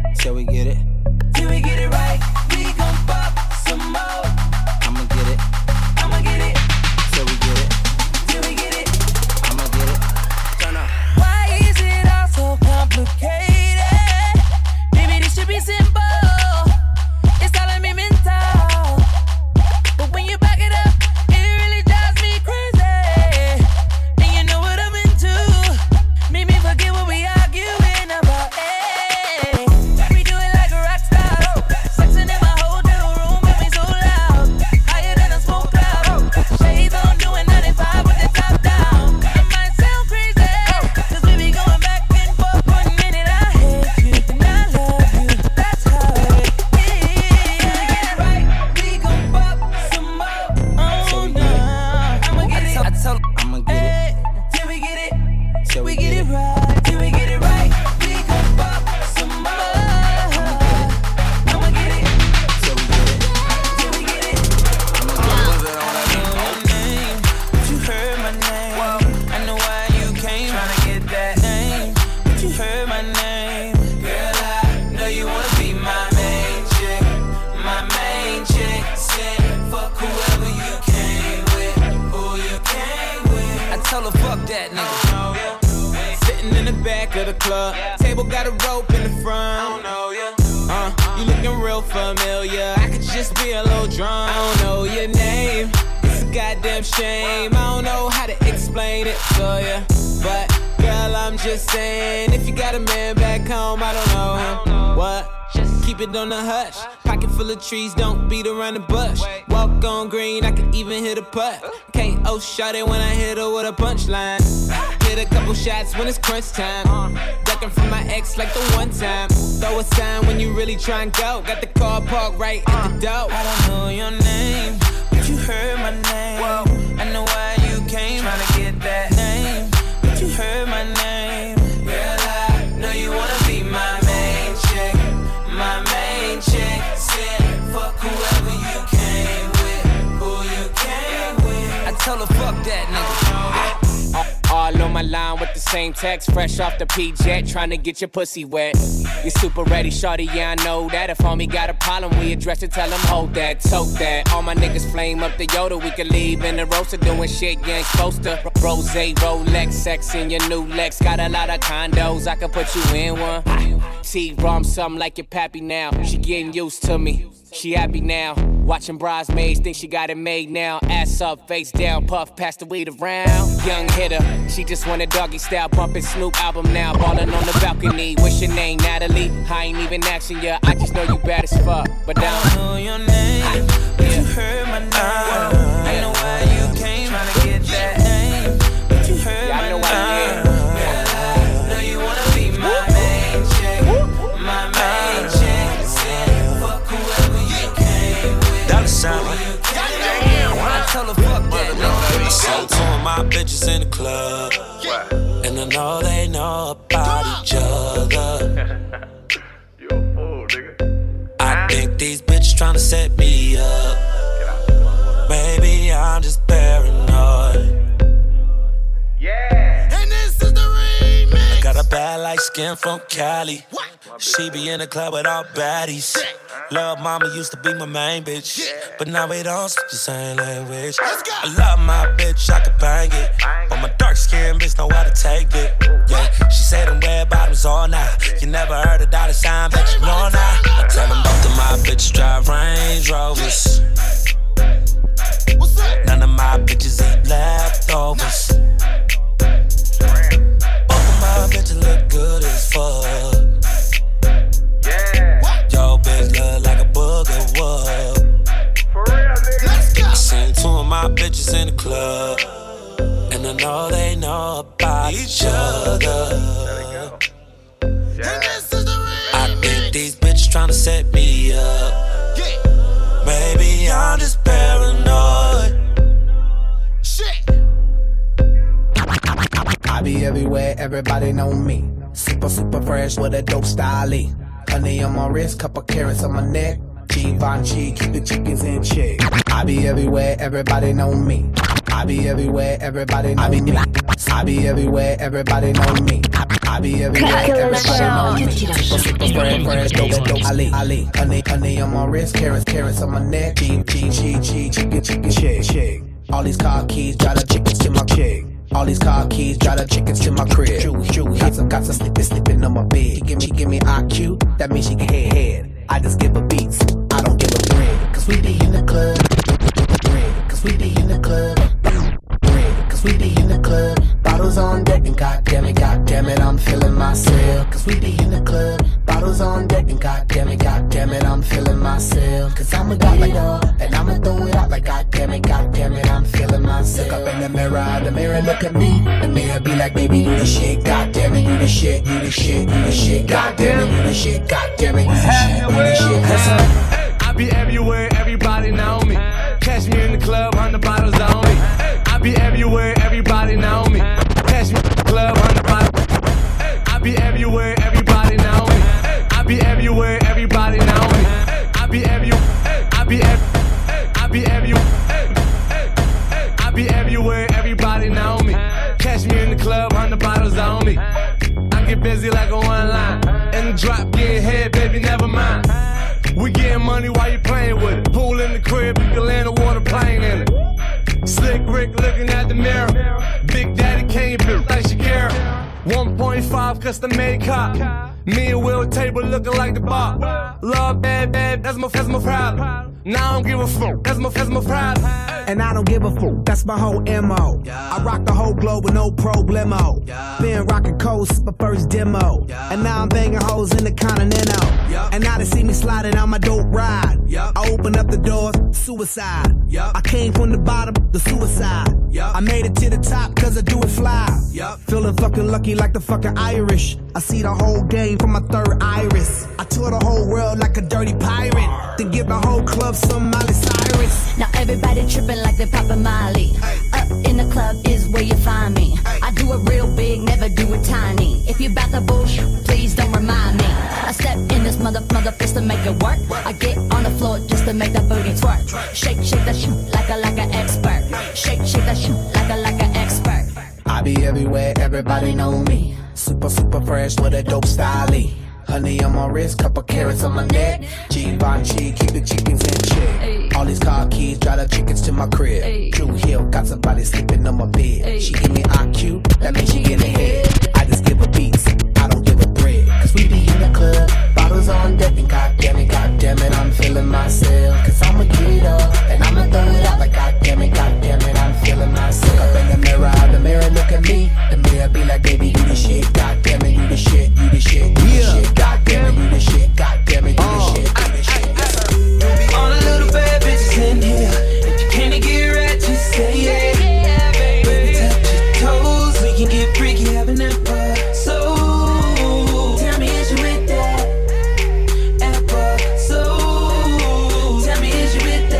Till we get it. Till we get it right, we gon' pop some more. I'ma get it. I'ma get it. Till we get it. Till we get it. I'ma get it. Turn up. Why is it all so complicated? Baby, this should be simple. It's all a mental. But when you back it up, it really drives me crazy. And you know what I'm into. Make me forget what we arguing about. Hey, we do it like a rock star. Sexing in my hotel room, got me so loud. Higher than a smoke cloud. Shades on, doing ninety-five with the top down. It might sound crazy, cause we be going back and forth. One minute I hate you, and I love you. That's how it is. Right, we gon' fuck some more. Oh no, I'ma get it. I told I'ma get it. Till we get it. Till We get it right, till we get it right. We gon' fuck some more. I'ma get it. Till we get it. Till we get it. I know your name, but you heard my name. I know why you came, tryna get that name, but you heard my name. Girl, I know you wanna be my main chick, my main chick. Said fuck whoever you came with, who you came with. I told her fuck that nigga. Sitting in the back of the club, table got a rope in the front. I don't know ya. Uh, you looking real familiar. I could just be a little drunk. I don't know your name. It's a goddamn shame. I don't know how to explain it to ya, but girl, I'm just saying, if you got a man back home, I don't know him. What? Just keep it on the hush. Pocket full of trees, don't beat around the bush. Walk on green, I can even hit a putt. K O shot it when I hit her with a punchline. Hit a couple shots when it's crunch time. Ducking from my ex like the one time. Throw a sign when you really try and go. Got the car parked right at the door. I don't know your name, but you heard my name. I know why you came, tryna get that name, but you heard my name. Girl, I know you wanna be my main chick, my main chick. Said fuck whoever you came with, who you came with. I told her fuck that nigga. All on my line with the same text, fresh off the P-Jet, trying to get your pussy wet. You super ready, shorty, yeah, I know that. If homie got a problem, we address it, tell him hold that, tote that. All my niggas flame up the Yoda, we can leave in the roaster, doing shit you ain't supposed to. Rose, Rolex, sex in your new Lex, got a lot of condos, I can put you in one. T-Rom, something like your pappy now, she getting used to me. She happy now, watching bridesmaids, think she got it made now. Ass up, face down, puff, pass the weed around. Young hitter, she just want a doggy style, bumping Snoop album now. Ballin' on the balcony, what's your name, Natalie? I ain't even asking ya, I just know you bad as fuck. But I don't know your name, but you heard my name. I know why you came, tryna get that name, but you heard my name. Girl, I know you wanna be my main chick, my main chick. Said fuck whoever you came with. Dollar sign. I told her fuck that nigga. So two of my bitches in the club, and I know they know about each other. I think these bitches tryna set me up. Maybe I'm just paranoid. Yeah. And this is the remix. I got a bad light skin from Cali. She be in the club with all baddies. Love mama used to be my main bitch, but now we don't speak the same language. I love my bitch, I can bang it, but my dark skinned bitch know how to take it. Yeah, she said them red bottoms all night. You never heard a dollar sign, but you know now. I tell them both of my bitches drive Range Rovers. None of my bitches eat leftovers. Both of my bitches look good as fuck. Yo, bitch look like a booger whoop. For real, nigga. Let's go. I seen two of my bitches in the club, and I know they know about each other. And this is the remix. I think these bitches tryna set me up. Maybe I'm just paranoid. Shit. I be everywhere, everybody know me. Super, super fresh with a dope style. Honey on my wrist, couple carrots on my neck. Givenchy, keep the chickens in check. I be everywhere, everybody know me. I be everywhere, everybody know me. I be everywhere, everybody know me. I be everywhere, everybody know me. Super, super, fresh, fresh, dope, dope. Ali, Ali, honey, honey on my wrist, carrots, carrots on my neck. G, G, G, G, chicken, chicken, shake, shake. All these car keys, drive the chickens to my chick. All these car keys, drive the chickens to my crib. True, true, got some, got some slipping, slipping on my bed. She give me, give me I Q, that means she can head, head. I just give her beats, I don't give her bread. Cause we be in the club, bread. Cause we be in the club, bread. Cause we be in the club, bottles on deck and goddamn it, goddamn it, I'm feeling myself. Cause we be in the club, bottles on deck and goddamn it, goddamn it, I'm feeling myself. Cause I'ma get it up, and I'ma throw it out like goddamn it, goddamn it, I'm feeling myself. Look up in the mirror, the mirror look at me. The mirror be like, baby, you the shit, goddamn it, you the shit, you the shit, you the shit, goddamn it, you the shit, goddamn it, you the shit, you the shit. I be everywhere, everybody know me. Catch me in the club, hundred bottles on me. I be everywhere, everybody know me. Catch me in the club, hundred bottles. I be everywhere, everybody know me. I be everywhere, everybody know me. I be everywhere, I be everywhere, I be everywhere, I be everywhere, everybody know me. Catch me in the club, hundred bottles on me. I get busy like a one line. In the drop, getting head, baby, never mind. We getting money while you playing with it. Pool in the crib, you can land a water plane in it. Slick Rick looking at the mirror. Big Daddy can't build like Shakira. one point five custom made cop. Me and Will table looking like the bar. Love bad, bad, that's my, that's my problem. Now I don't give a fuck, that's my, that's my problem. And I don't give a fuck, that's my whole M O. Yeah. I rock the whole globe with no problemo. Yeah. Been rocking cold since my first demo. Yeah. And now I'm banging hoes in the Continental. Yeah. And now they see me sliding on my dope ride. Yeah. I open up the doors, suicide. Yeah. I came from the bottom, the suicide. Yeah. I made it to the top cause I do it fly. Yeah. Feeling fucking lucky like the fucking Irish. I see the whole game from my third iris. I tour the whole world like a dirty pirate. Then give the whole club some Miley Cyrus. Now everybody tripping like they poppin' Miley. Up in the club is where you find me. I do it real big, never do it tiny. If you bout the bullshit, please don't remind me. I step in this mother mother fist to make it work. I get on the floor just to make that booty twerk. Shake, shake that shit like a like an expert. Shake, shake that shit like a like an expert. I be everywhere, everybody know me. Super, super fresh with a dope style. Honey on my wrist, couple carrots on my neck. Givenchy, keep the chickens in check. Ay. All these car keys, drive the chickens to my crib. Ay. Drew Hill, got somebody sleeping on my bed. Ay. She give me I Q, that means she get ahead. I just give her beats, I don't give her bread. Cause we be in the club, bottles on deck, and goddamn it, goddamn it, I'm feeling myself. Cause I'ma get it up, and I'ma throw it out like goddamn it, goddamn it, I'm feeling myself. Look up in the mirror, the mirror look at me. The mirror be like, baby, you the shit, goddamn it, you the shit, you the shit, you the yeah. shit. Goddamn it, you the shit, goddamn it, you the shit, you the shit. All the little bad bitches in here. If you can't get right, just say yeah. Yeah, baby. Baby, touch your toes. We can get freaky, having that bar. So, tell me, is you with that? Apple. So, tell me, is you with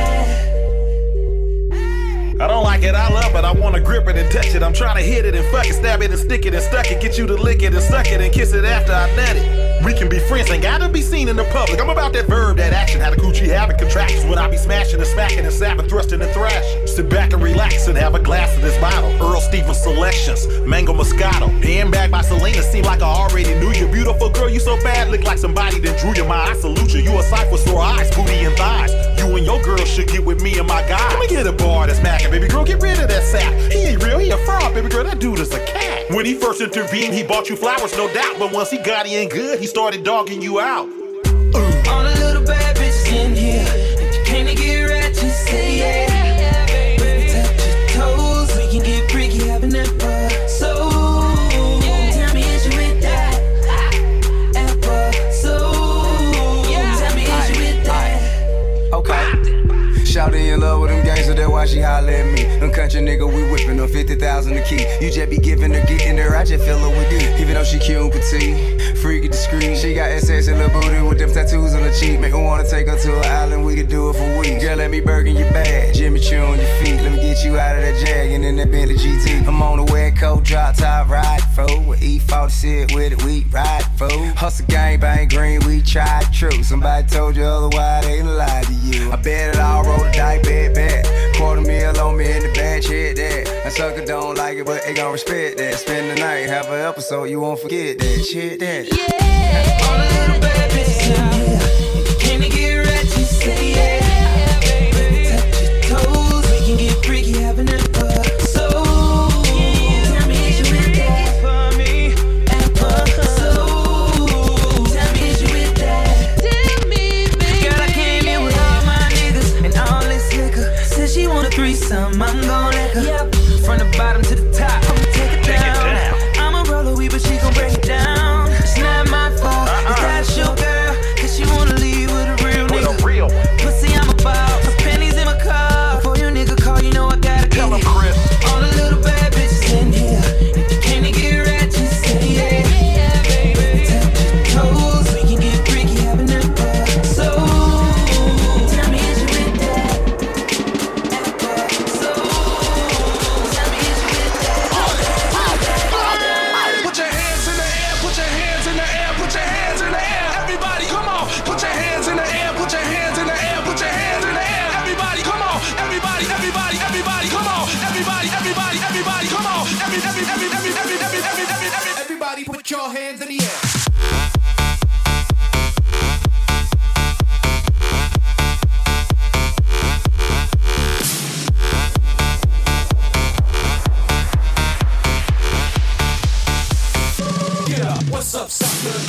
that? I don't like it, I love it, I wanna grip it and touch it. I'm trying to hit it and fuck it, stab it and stick it and stuck it. Get you to lick it and suck it and kiss it after I nut it. We can be friends, ain't gotta be seen in the public. I'm about that verb, that action, how the coochie having contractions. When I be smashing and smacking and sapping, thrusting and thrashing. Sit back and relax and have a glass of this bottle. Earl Stevens Selections, Mango Moscato. Handbag by Selena, seem like I already knew you. Beautiful girl, you so bad, look like somebody that drew your mind. I salute you, you a sight for sore eyes, booty and thighs. You and your girl should get with me and my guy. Let me get a bar that's macking, baby girl, get rid of that sap. He ain't real, he a fraud, baby girl, that dude is a cat. When he first intervened, he bought you flowers, no doubt. But once he got in good, he started dogging you out. Uh. All the little bad bitches in here. If you can't get right, just say yeah. Yeah, baby. Baby, touch your toes. We can get freaky, having that bar. So, yeah. Tell me, is you with that? Apple. So, yeah. Tell me, is you with that? Okay. Shawty in love with them gangsters, that's why she holler at me. Them country nigga, we whipping them fifty thousand a key. You just be giving her, getting her, I just feel her with you. Even though she cute and petite, freaky, discreet, G. She got that sexy little booty with them tattoos on her cheek. Make her wanna take her to an island, we could do it for weeks. Girl, let me Birkin your bag, Jimmy Choo on your feet. Let me get you out of that Jag and in that Bentley G T. I'm on the wet coat, drop top, ride for. With E forty sit with it, we ride for. Hustle gang, bang green, we tried true. Somebody told you otherwise, they lied to you. I bet it all, roll the dice, bet, bet. Quarter meal on me in the bench, hit that. A sucker don't like it, but they gon' respect that. Spend the night, have an episode, you won't forget that. Shit that. Yeah. All the little bad bitches out here. If you came to get ratchet, say yeah. Baby, touch your toes, we can get freaky, having that fuck. So, tell me is you with that for me? And fuck so, tell me is you with that? Tell me, baby. Girl, I came here with all my niggas and all this liquor. Said she want a threesome, I'm gon' let her. Yep. From the bottom to the top, I'ma take it down. I'ma roll a weed, but she gon' break it down. It's not my fault, uh-uh. It's that your girl, cause she wanna leave with a real nigga. A real. Pussy, I'm about some pennies in my car. Before you nigga call, you know I gotta tell him, Chris. All the little bad bitches in here. If you came to get ratchet, say yeah. Yeah, baby. Touch your toes, we can get freaky, having that fuck. So, tell me is you with that? So, tell me is you with that? Put your hands in the air, put your hands in the air, put your hands in the air. Everybody, come on. Put your hands in the air, put your hands in the air, put your hands in the air. Everybody, come on. Everybody, everybody, everybody, come on. Everybody, everybody, everybody, come on. Every, every, every, every, every, every, every, every, every. Everybody put your hands in the air. What's up, sucker?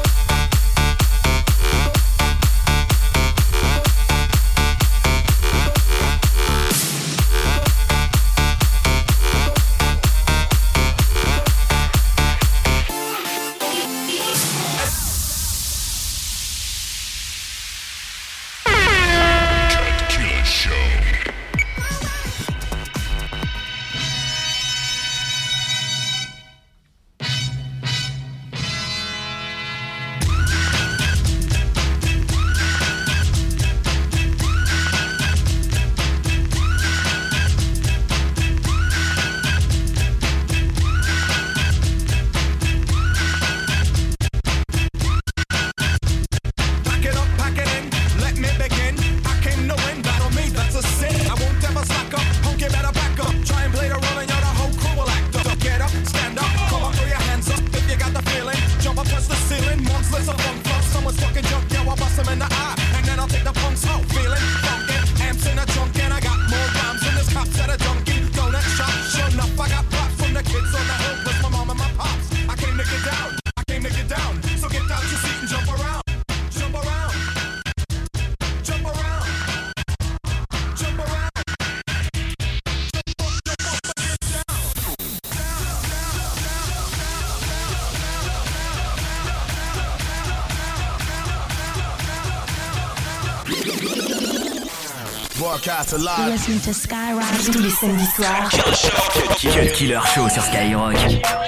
Listen to Skyrock tous les samedis soirs. Cut Killer Show sur Skyrock.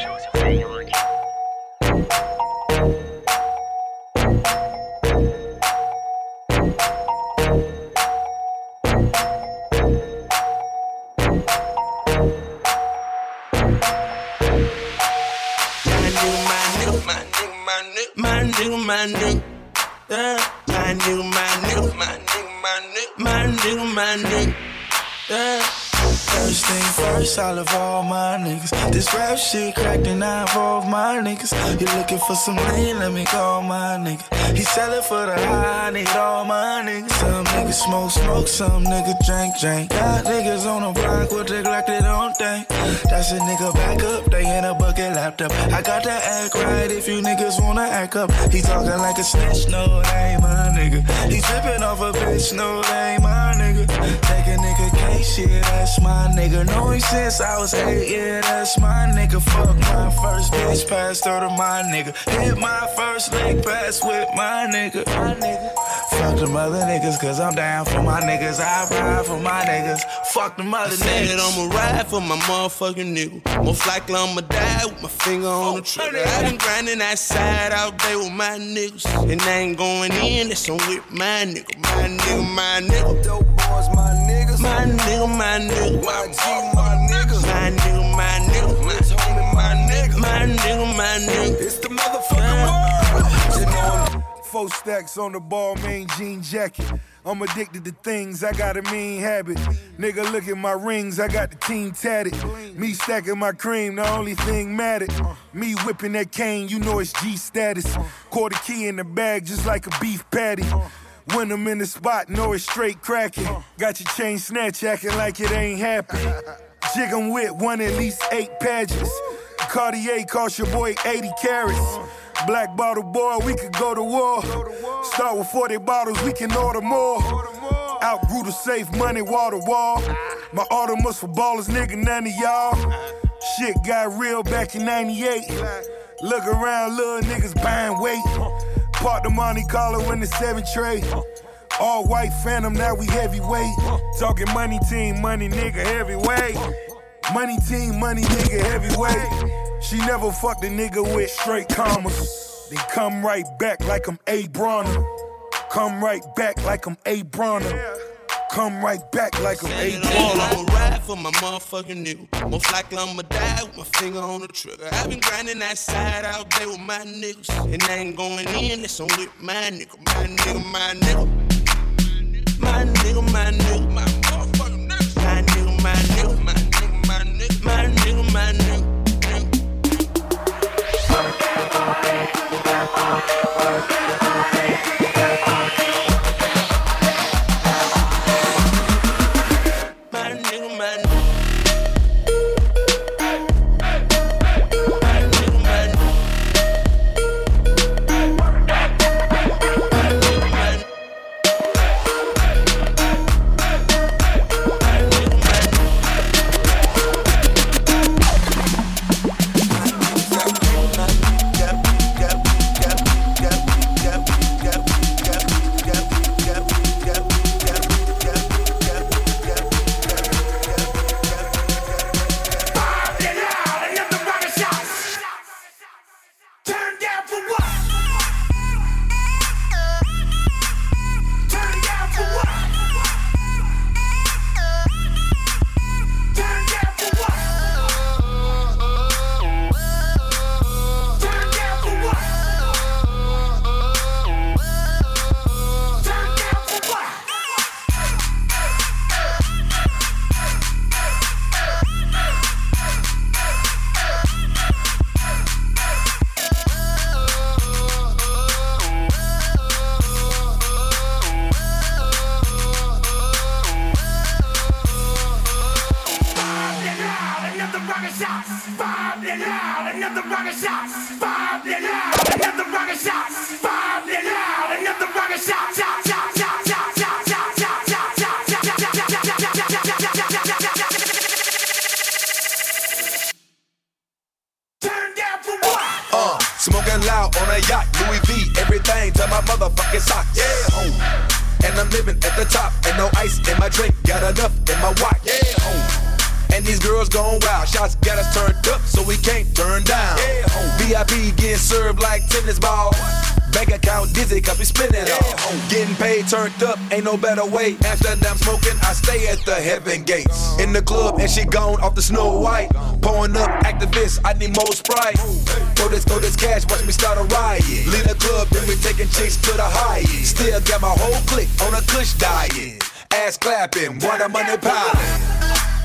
My new, my new, yeah. My new, my new, my new, my new, my new, my new, yeah. First thing first, I love all my niggas. This rap shit cracked and I involve my niggas. You looking for some lean, let me call my nigga. He sellin' for the high, I need all my niggas. Some niggas smoke, smoke, some niggas drink, drink. Got niggas on the block with the Glock, they don't think. That's a nigga back up, they in a bucket laptop. I got to act right if you niggas wanna act up. He talking like a snitch, no, that ain't my nigga. He trippin' off a bitch, no, that ain't my nigga. Take a nigga case, yeah, that's my nigga. Know him since I was eight, yeah, that's my nigga. Fuck my first bitch, passed her to my nigga. Hit my first leg pass with my nigga. My nigga. Fuck Fuck them other niggas, cause I'm down for my niggas. I ride for my niggas. Fuck them other niggas. I'ma ride for my motherfucking nigga. Most likely I'ma die with my finger on the trigger. I been grinding that side out there with my niggas. And I ain't going in, that's on with my nigga. My nigga, my nigga. Dope boys, my niggas. My nigga, my nigga. My G, my niggas. My nigga, my nigga. My homie, my nigga. My nigga, my nigga. It's the motherfucking world. You know I'm Four stacks on the ball, main jean jacket. I'm addicted to things, I got a mean habit. Nigga, look at my rings, I got the team tatted. Me stacking my cream, the only thing mattered. Me whipping that cane, you know it's G status. Quarter key in the bag, just like a beef patty. When I'm in the spot, know it's straight cracking. Got your chain snatch acting like it ain't happened. Jig 'em with one at least eight pages. Cartier cost your boy eighty carats. Black bottle boy, we could go to war. Start with forty bottles, we can order more. Outgrew the safe, money, wall to wall. My order must for ballers, nigga, none of y'all. Shit got real back in ninety-eight. Look around, little niggas buying weight. Park the Monte Carlo in the seven tray. All white Phantom, now we heavyweight. Talking money team, money nigga, heavyweight. Money team, money nigga, heavyweight. She never fucked a nigga with straight commas. Then come right back like I'm A. Bronner. Come right back like I'm A. Bronner. Come right back like I'm A. Bronner. I'ma ride for my motherfucking nigga. Most likely I'ma die with my finger on the trigger. I been grinding that side out there with my niggas. And I ain't going in, that's on with my nigga. My nigga, my nigga. My nigga, my nigga. My motherfucking nigga. My nigga, my nigga. My nigga, my nigga. My nigga, my nigga. Smoking loud on a yacht, Louis V, everything to my motherfucking socks. Yeah, home. And I'm living at the top, and no ice in my drink, got enough in my watch. Yeah, home. And these girls going wild, shots got us turned up, so we can't turn down. Yeah, home. V I P getting served like tennis balls. Bank account dizzy, cause we spending it all. Getting paid, turned up, ain't no better way. After I'm smoking, I stay at the heaven gates. In the club, and she gone off the Snow White. Pouring up activists, I need more Sprite. Throw this, throw this cash, watch me start a riot. Leave the club, then we taking chicks to the highest. Still got my whole clique on a kush diet. Ass clapping, water money piling.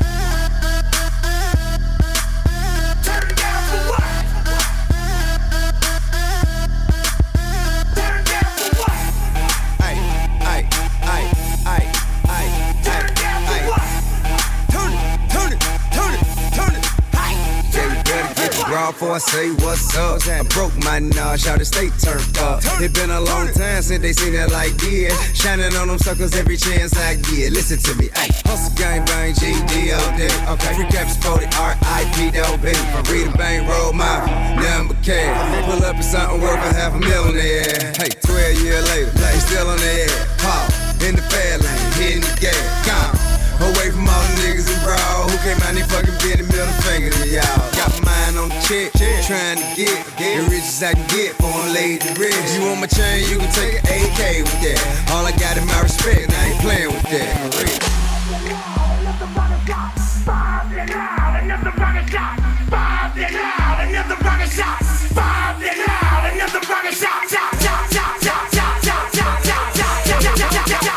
Before I say what's up, I broke my nose, shout to stay turned up. It been a long time since they seen that like yeah. Shining on them suckers every chance I get. Listen to me, ayy. Hustle gang bang, G D all day. Okay, free cap sporty, R I P though, baby. From Rita Bang, roll my number cash. Pull up in something worth a half a million there. Hey, twelve years later, they still on the air. I can get for them laid to rest. You want my chain, you can take an A K with that. All I got is my respect, and I ain't playing with that. Another rocket shot, five and out. Another rocket shot, five and out. Another rocket shot, five and out. Another rocket shot, shot, shot, shot, shot, shot, shot, shot, shot, shot,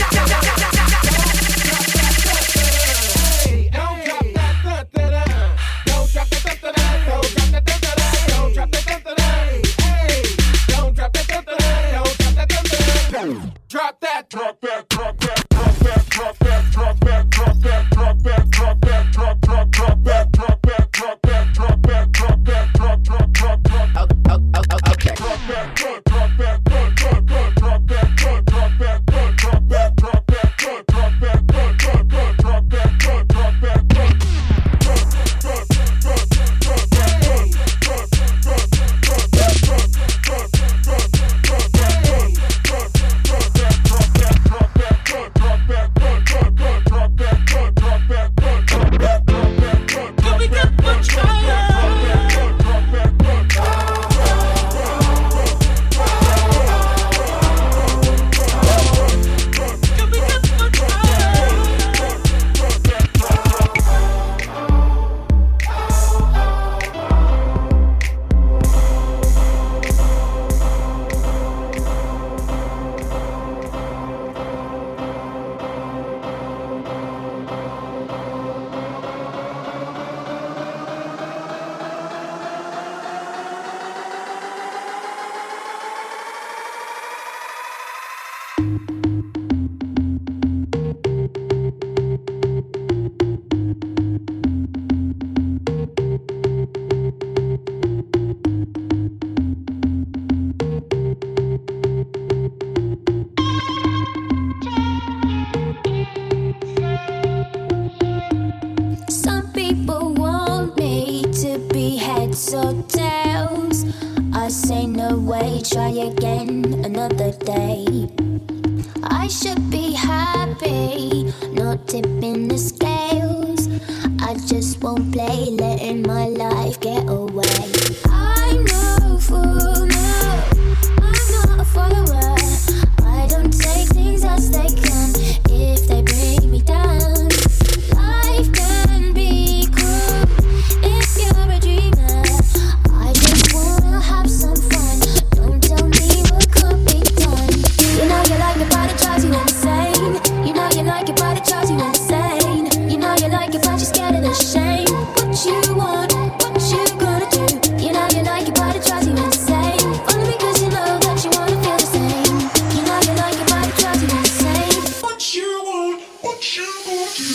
Drop that, drop that, drop that, drop that, drop that, drop that, drop that, drop that, drop that, drop, drop, drop that, drop that, drop that, drop that, drop that, drop, drop, drop, drop. Okay. Drop that, drop, drop that, drop, drop, drop, drop that, drop, drop that, drop, drop that, drop that, drop, drop that, drop, drop, drop, drop that, drop, drop that, drop, drop, drop, drop, drop that, drop, drop, drop, drop that, drop, drop, drop, drop that, Some people want me to be heads or tails. I say no way, try again another day. I should be happy, not tipping the scales. I just won't play, letting my life get away. I'm no fool, no, I'm not a follower. I don't take things as they come if they bring me down. Life can be cruel if you're a dreamer. I just wanna have some fun, don't tell me what could be done. You know you like it, but it drives you insane. You know you like it, but it drives you insane. You know you like it, but you're scared of the shame. What you want, what you gonna do? You know you like it, but it drives you insane. Only because you know that you wanna feel the same. You know you like it, but it drives you insane. What you want, what you gonna do?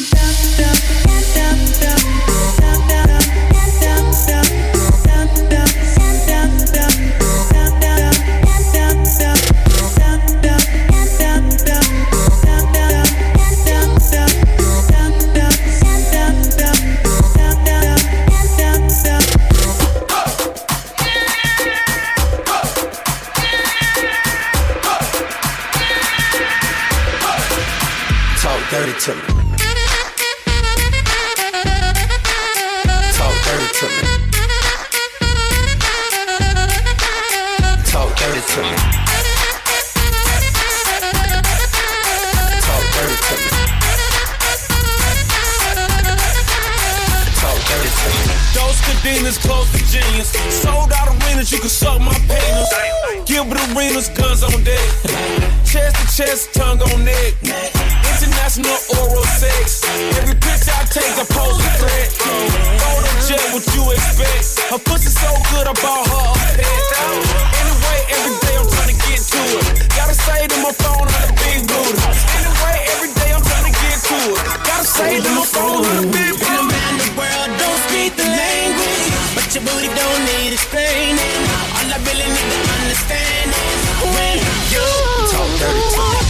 Talk dirty to me. Talk dirty to me. Talk dirty to me. Talk dirty to me. Talk dirty to me. Those cadenas close to genius. Sold out arenas, you can suck my penis. Gilbert arenas, guns on deck. Chest to chest, tongue on neck. International oral sex. Every picture I take, I pose a threat. Photo jet, what you expect? Her pussy so good, I bought her a pet. Anyway, every day I'm trying to get to it. Gotta say to my phone, I'm a big booty. Anyway, every day I'm trying to get to it. Gotta say to my phone, I'm a big booty. Been around the world, don't speak the language, but your booty don't need explaining. All I really need to understand is when you talk dirty to me.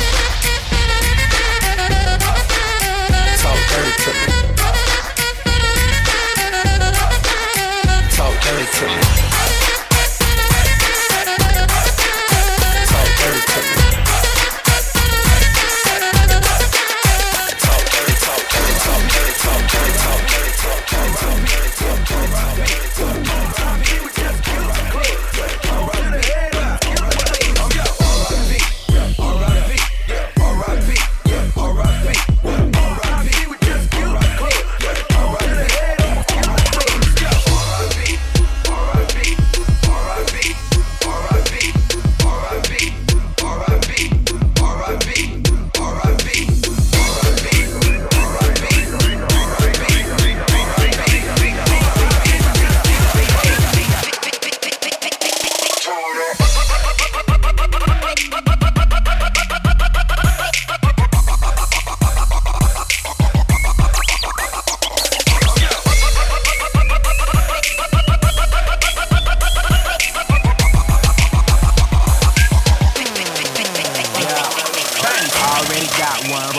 Talk dirty to me. Talk dirty to me.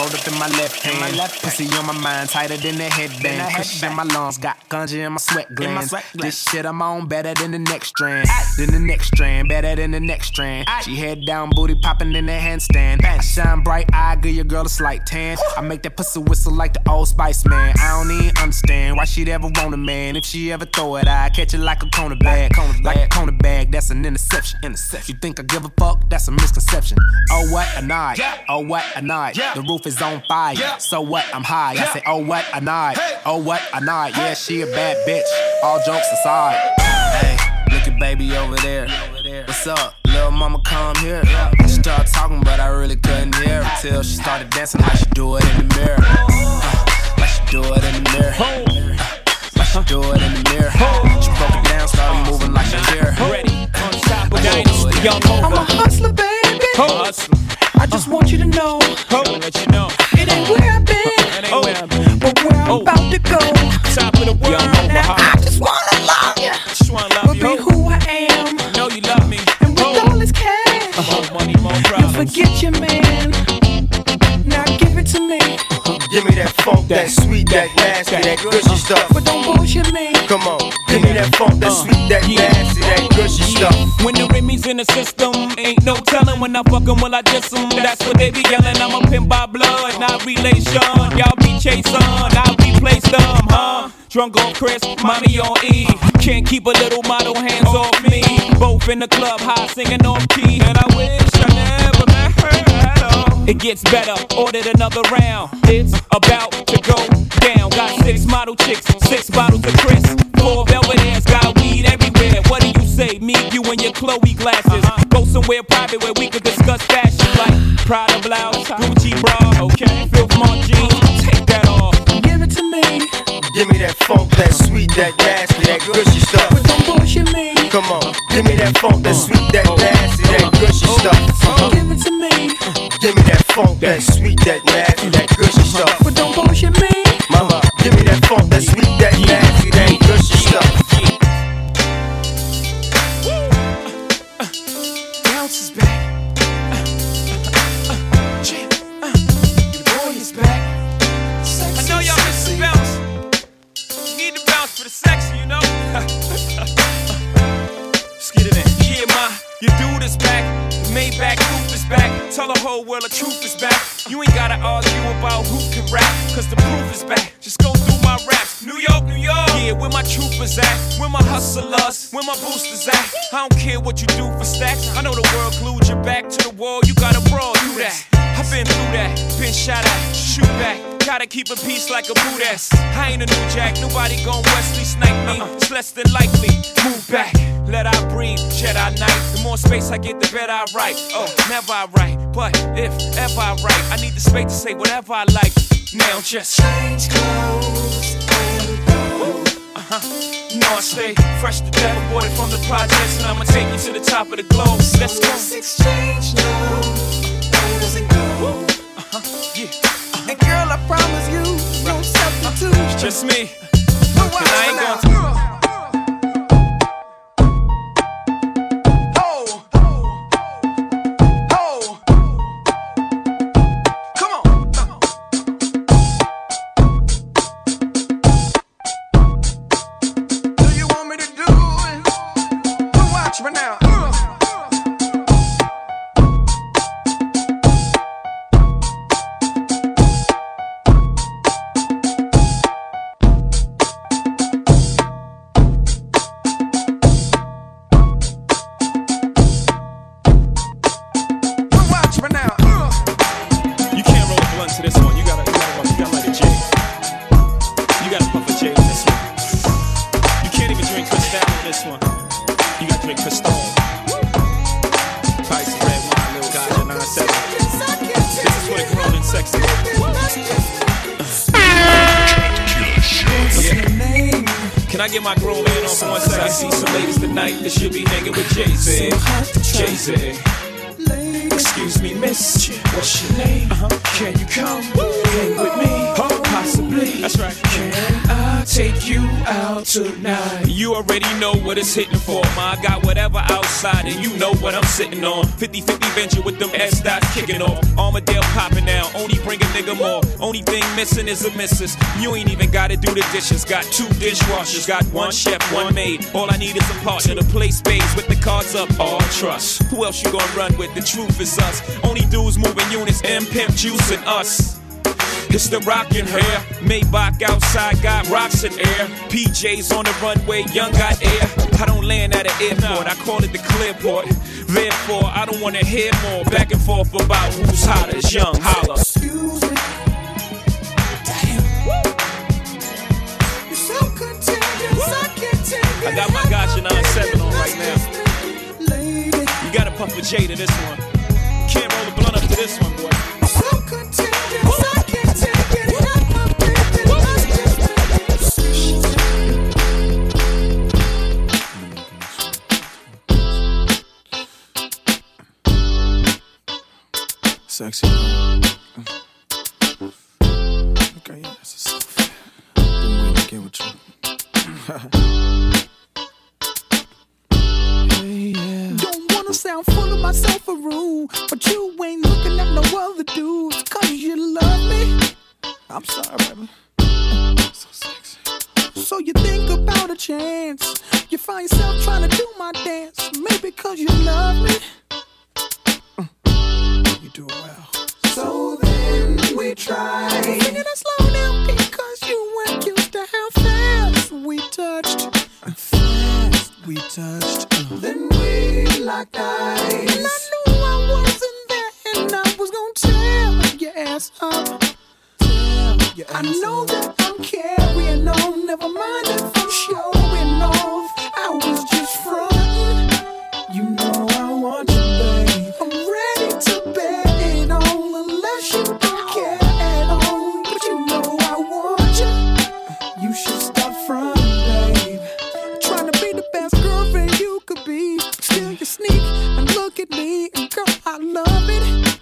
rolled up in my left hand. My left pussy on my mind, tighter than the headband. Kush in my lungs, got ganja in my sweat glands. My sweat this shit I'm on better than the next strand. Than the next strand, better than the next strand. She head down, booty popping in the handstand. I shine bright, I give your girl a slight tan. I make that pussy whistle like the Old Spice man. I don't even understand why she'd ever want a man. If she ever throw it, I catch it like a corner bag. Like a corner bag, that's an interception. You think I give a fuck? That's a misconception. Oh what a night, oh what a night. The roof is on fire, so what? I'm high. I say oh what a night, oh what a night. Yeah, she a bad bitch. All jokes aside. Hey, look at baby over there. What's up? Little mama come here. She started talking, but I really couldn't hear her till she started dancing like she do it in the mirror. Uh, like she do it in the mirror. Uh, like she do it in the mirror. She broke it down, started moving like she here. Ready on top of dynasty, young I'm a hustler, baby. Hustler. I just want you to know. Let you know. It ain't where I've been, oh. but where I'm oh. about to go. Top of the world. Now I just wanna love you. Just wanna love but you. Be who I am. Know you love me. And with oh. all this cash, more money, more problems. You forget your man. Now give it to me. Give me that funk, that sweet, that nasty, that gushy stuff. But don't bullshit me. Come on, give me that funk, that sweet, that nasty, that gushy stuff. When the Remy's in the system, ain't no telling when I fuck 'em, will I diss 'em. That's what they be yelling. I'm a pimp by blood, not relation. Y'all be chasing, I'll replace them, huh? Drunk on Chris, mommy on E. Can't keep a little model hands off me. Both in the club, high singing off key. And I wish I never met her at all. It gets better, ordered another round. It's about to go down. Got six model chicks, six bottles of Chris. Four velvet ass, got weed everywhere. What do you say? Me, you, and your Chloe glasses. Uh-huh. Go somewhere private where we could discuss fashion like Prada blouse, Gucci bra, okay? Filth Mon jeans, take that off. Give it to me. Give me that funk, that sweet, that nasty, that gushy stuff. But don't bullshit me. Come on, give me that funk, that sweet, that nasty, that gushy stuff. Give it to me. Give me that funk, that sweet, that nasty, that gushy stuff. But don't bullshit me. Mama, give me that funk, that sweet, that nasty, that gushy stuff. Bounce is back. Your boy is back. I know y'all miss the bounce. You need to bounce for the section, you know. Let's get it in. Yeah, ma, your dude is back. The Maybach roof is back. Tell the whole world the truth is back. You ain't gotta argue about who can rap, cause the proof is back. Just go through my raps. New York, New York. Yeah, where my troopers at? Where my hustlers? Where my boosters at? I don't care what you do for stacks. I know the world glued your back to the wall. You gotta brawl, do that. I've been through that. Been shot at, shoot back. Gotta keep a peace like a boot ass. I ain't a new jack. Nobody gon' Wesley snipe me. It's less than likely. Move back. Let I breathe. Jedi Knight. The more space I get, the better I write. Oh, never I write. But if ever I write, I need the space to say whatever I like. Now just change clothes and go. Uh-huh. You know I stay fresh to death, aborted from the projects, and I'ma take you to the top of the globe. Let's go. Let's exchange now. Where does it go? Uh-huh. Yeah. Uh-huh. And girl, I promise you, no substitute. It's just me. Cause I ain't gonna. Can I get my grown man on for one second? I see some ladies tonight that should be hanging with Jay-Z. Jay-Z. Excuse me, miss, what's your name? Uh-huh. Can you come hang with me? Possibly. That's right. Can I take you out tonight. You already know what it's hitting for, ma. I got whatever outside and you know what I'm sitting on. fifty fifty venture with them S-dots kicking off. Armadale popping now, only bring a nigga more. Only thing missing is a missus. You ain't even gotta do the dishes. Got two dishwashers, got one chef, one maid. All I need is a partner to play spades with the cards up. All trust. Who else you gonna run with? The truth is us. Only dudes moving units, M Pimp Juice and us. It's the rockin' hair. Maybach outside got rocks in air. P Js on the runway, young got air. I don't land at an airport, I call it the clearport. Therefore, I don't wanna hear more back and forth about who's hottest, young holla. Excuse me. Damn. You're so contagious, I can't take it. I got my Gotcha nine seven on right now. You gotta puff a J to this one. Can't roll a blunt up to this one, boy. So contagious, I can't take it. Have my baby, let's just sexy. Okay, yeah, that's a selfie. Been waiting to get with you. Hey, yeah. Don't wanna sound full of myself a rude, but you ain't looking at no other dudes. Cause you love me. I'm sorry, baby. So sexy. So you think about a chance. You find yourself trying to do my dance. Maybe cause you love me. You do it well. So then we try. Singing it slow down because you weren't used to how fast we touched. Fast we touched. Uh. Then we locked eyes. And I knew I wasn't there, and I was gonna tear your ass up. Your I ass know up. that I'm carrying on. Never mind if I'm showing off. I was just frontin'. You know I want you, babe. I'm ready to bet it on, unless you don't care at all. But you know I want you. You should stop frontin', babe. Trying to be the best girlfriend you could be. Still you sneak and look at me, and girl, I love it.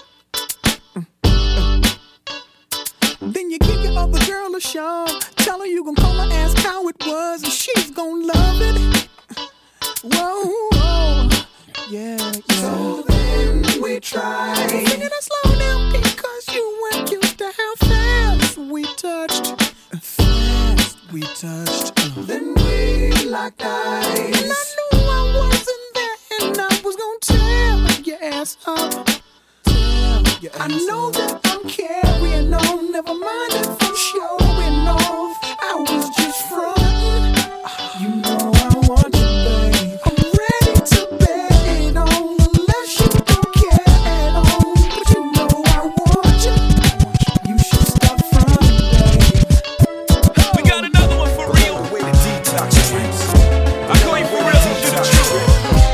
Then you give your other girl a shove. Tell her you gon' call her, ask how it was, and she's gon' love it. Whoa, whoa. Yeah, yeah. So then we tried. Singing it slow down because you weren't used to how fast we touched. Fast we touched. Uh. Then we locked eyes. And I knew I wasn't there, and I was gonna tear your ass up. Your ass I know up. that I'm carrying on. Never mind if I'm showing off. I was just frontin'. You know I want you, babe. I'm ready to bet it on, unless you don't care at all. But you know I want you. You should stop frontin', babe. We got another one for real. Way to detox drinks. I call you for real, you the truth.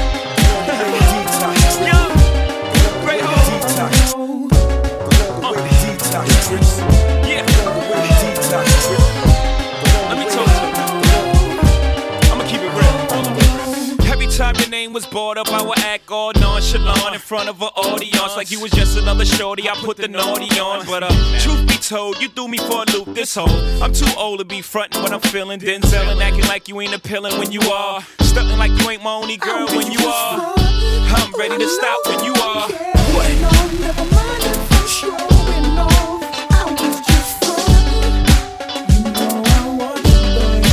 Yo, great home. Yeah. Let me talk to you. I'ma keep it real. Every time your name was brought up, I would act all nonchalant in front of an audience, like you was just another shorty. I put the naughty on, but uh, truth be told, you threw me for a loop this whole. I'm too old to be frontin' when I'm feeling Denzel and acting like you ain't appealing when you are, stuntin' like you ain't my only girl when you are. I'm ready to stop when you are. What? Never mind if I'm showing off. I was just frontin'. You know I want you,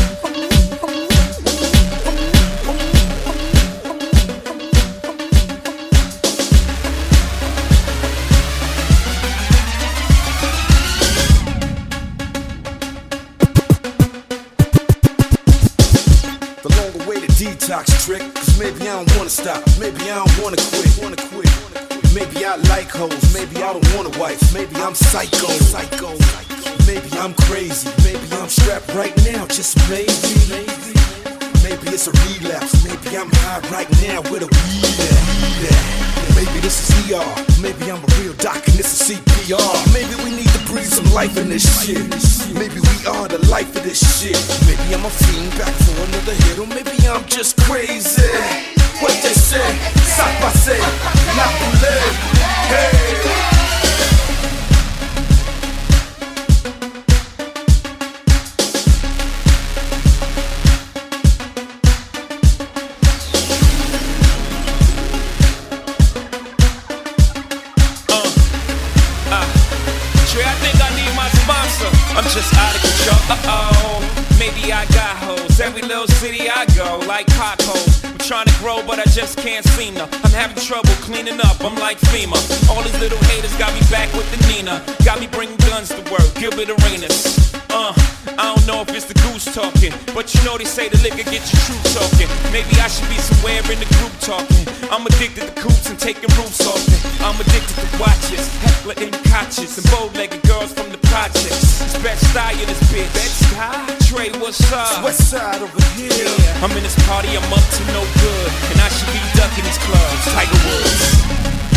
The longer way to detox trick, cause maybe I don't wanna stop, maybe I don't wanna quit, wanna quit. Maybe I like hoes, maybe I don't want a wife, maybe I'm psycho, psycho. Maybe I'm crazy, maybe I'm strapped right now, just maybe. Maybe it's a relapse, maybe I'm high right now with a weed at. Maybe this is E R, maybe I'm a real doc and this is C P R. Maybe we need to breathe some life in this shit. Maybe we are the life of this shit. Maybe I'm a fiend back for another hit, or maybe I'm just crazy. What they say, ça passe, la poulet, hey. I'm just out of control. Uh-oh, maybe I got hoes. Every little city I go, like potholes. I'm trying to grow, but I just can't seem to. I'm having trouble cleaning up, I'm like FEMA. All these little haters got me back with the Nina. Got me bringing guns to work, Gilbert Arenas. Uh, I don't know if it's the goose talking, but you know they say the liquor get your truth talking. Maybe I should be somewhere in the group talking. I'm addicted to coops and taking roofs off it. I'm addicted to watches, heckler and couches, and bow-legged girls from the projects. It's Bed-Stuy in this bitch. Bed-Stuy? Trey, what's up? West side over here. Yeah. I'm in this party, I'm up to no good, and I should be ducking these clubs. Tiger Woods.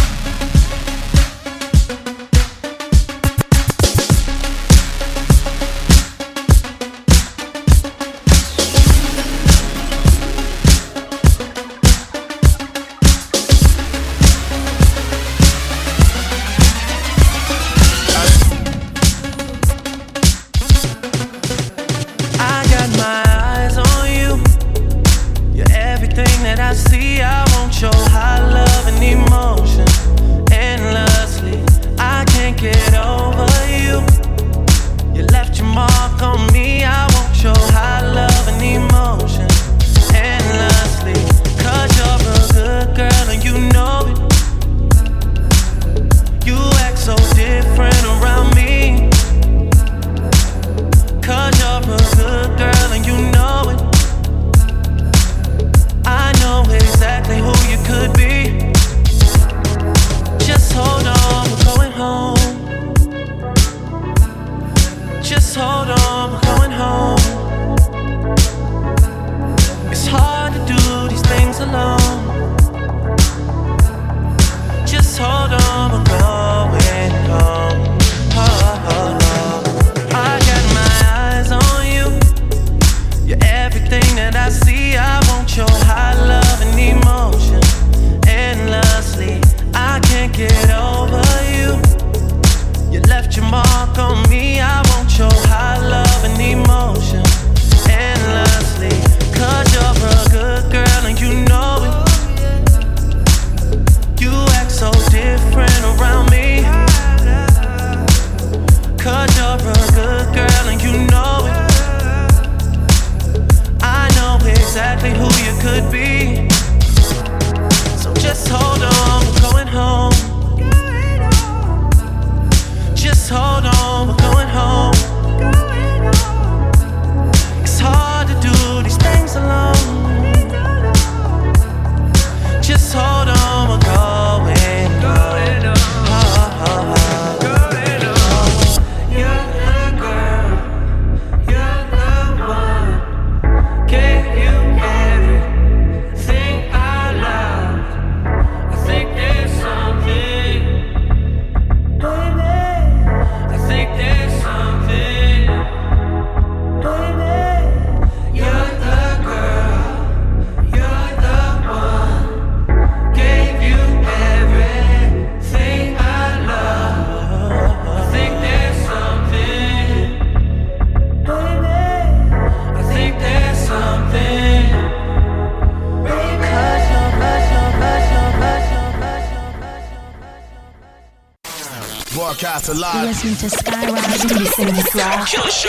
You're listening to Skyrock tous les samedis soirs.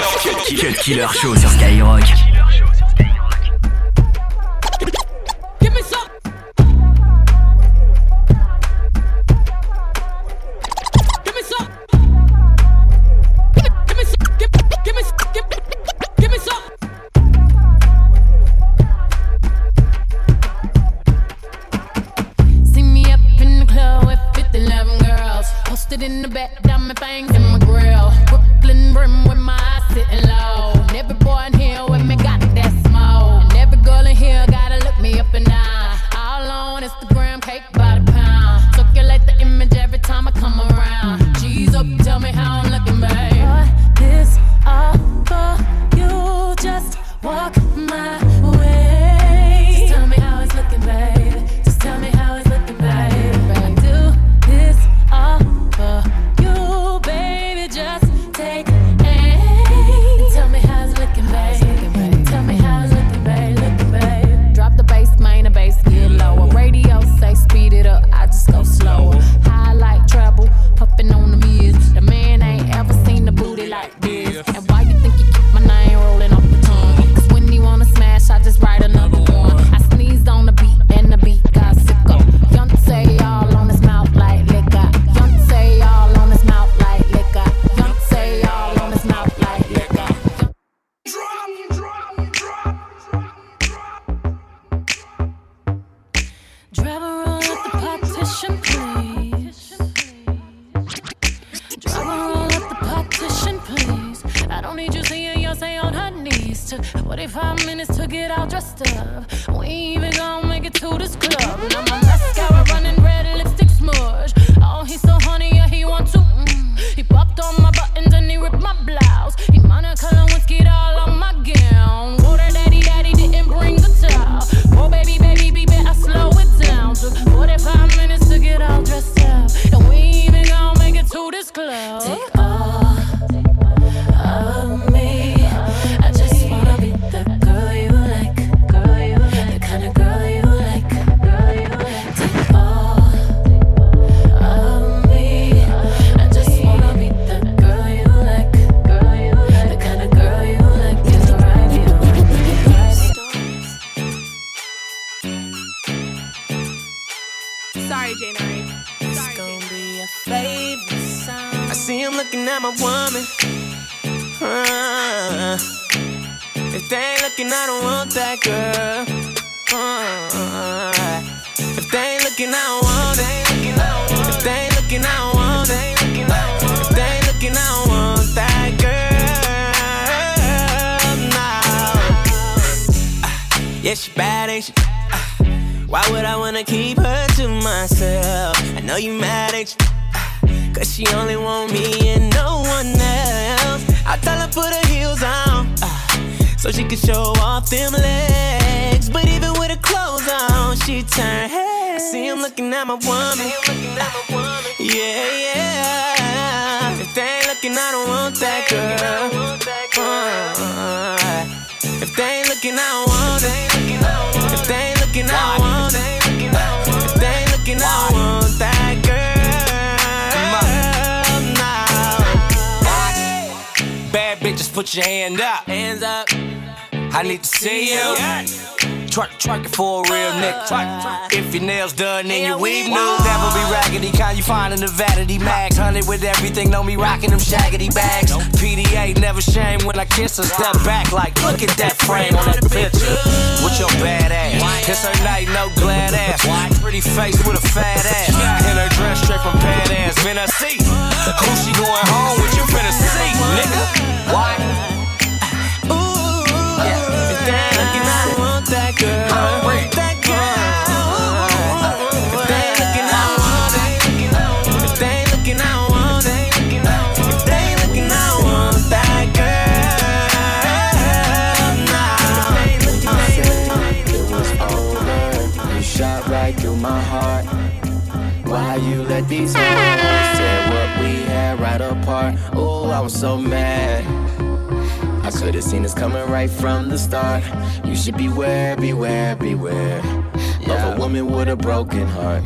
Cut Killer Show sur Skyrock. In the back, diamond things in my grill. Brooklyn brim with my eyes sitting low. And every boy in here with me got that smoke. And every girl in here gotta look me up and down. All on Instagram, cake by the pound. Circulate the image every time I come around. G's up, tell me how I'm looking, babe. Boy, this all for you. Just walk my way. Just tell me how it's looking, babe. Just tell me how it's looking, babe. I do this all for you, baby. Just take aim and tell me all dressed up. We ain't even gon' make it to this club. Now my mascara running red, lipstick smudge. Oh, he's so honey, yeah, he want to. Mm. He popped on my buttons and he ripped my blouse. He monocolor whiskey all on my gown. Water daddy, daddy didn't bring the towel. Oh, baby, baby, baby, I slow it down. Took forty-five minutes to get all dressed up. And we ain't even gon' make it to this club. Take all of me. I just wanna be the girl you like. Girl you like. The kind of girl you like. Girl you like. Take all of me. I just wanna be the girl you like. Girl you like. The kind of girl you like. Is right you. Sorry, Jane. It's gonna be a favorite song. I see him looking at my woman. Uh, if they ain't looking, I don't want that girl. Uh, if they ain't looking, I don't want it. If they ain't looking, I don't want it. If they ain't looking, I don't want that girl. No. Uh, yeah, she bad, ain't she? Uh, why would I wanna keep her to myself? I know you mad, ain't you? Uh, Cause she only want me and no one else. I tell her put her heels on, uh, so she can show off them legs. But even with her clothes on, she turn heads. I see him looking at my woman. Yeah, yeah. If they ain't looking, I don't want that girl. Uh, if they ain't looking, I don't want it. If they ain't looking, I don't want it. If they ain't looking, I don't want that girl. Bad bitches, put your hand up. Hands up. I need to see you. Twerk, twerk it for a real nigga. If your nails done and your weave new, never be raggedy. Kind you find in the vanity mags. Hundred with everything, know me rocking them shaggedy bags. P D A never shame when I kiss her. Step back like, look at that frame on that picture. With your bad ass. It's her night, no glad ass. Pretty face with a fat ass. In her dress straight from pad ass. Man, I see who she going home with. You finna see, nigga. Why? That girl, that girl. If they ain't looking, I don't want it. If they ain't looking, I don't want it. If they ain't looking, I don't want that girl. It was over. You shot right through my heart. Why you let these hoes tear what we had right apart? Oh, I was so mad. I could've seen this coming right from the start. You should beware, beware, beware yeah. of a woman with a broken heart.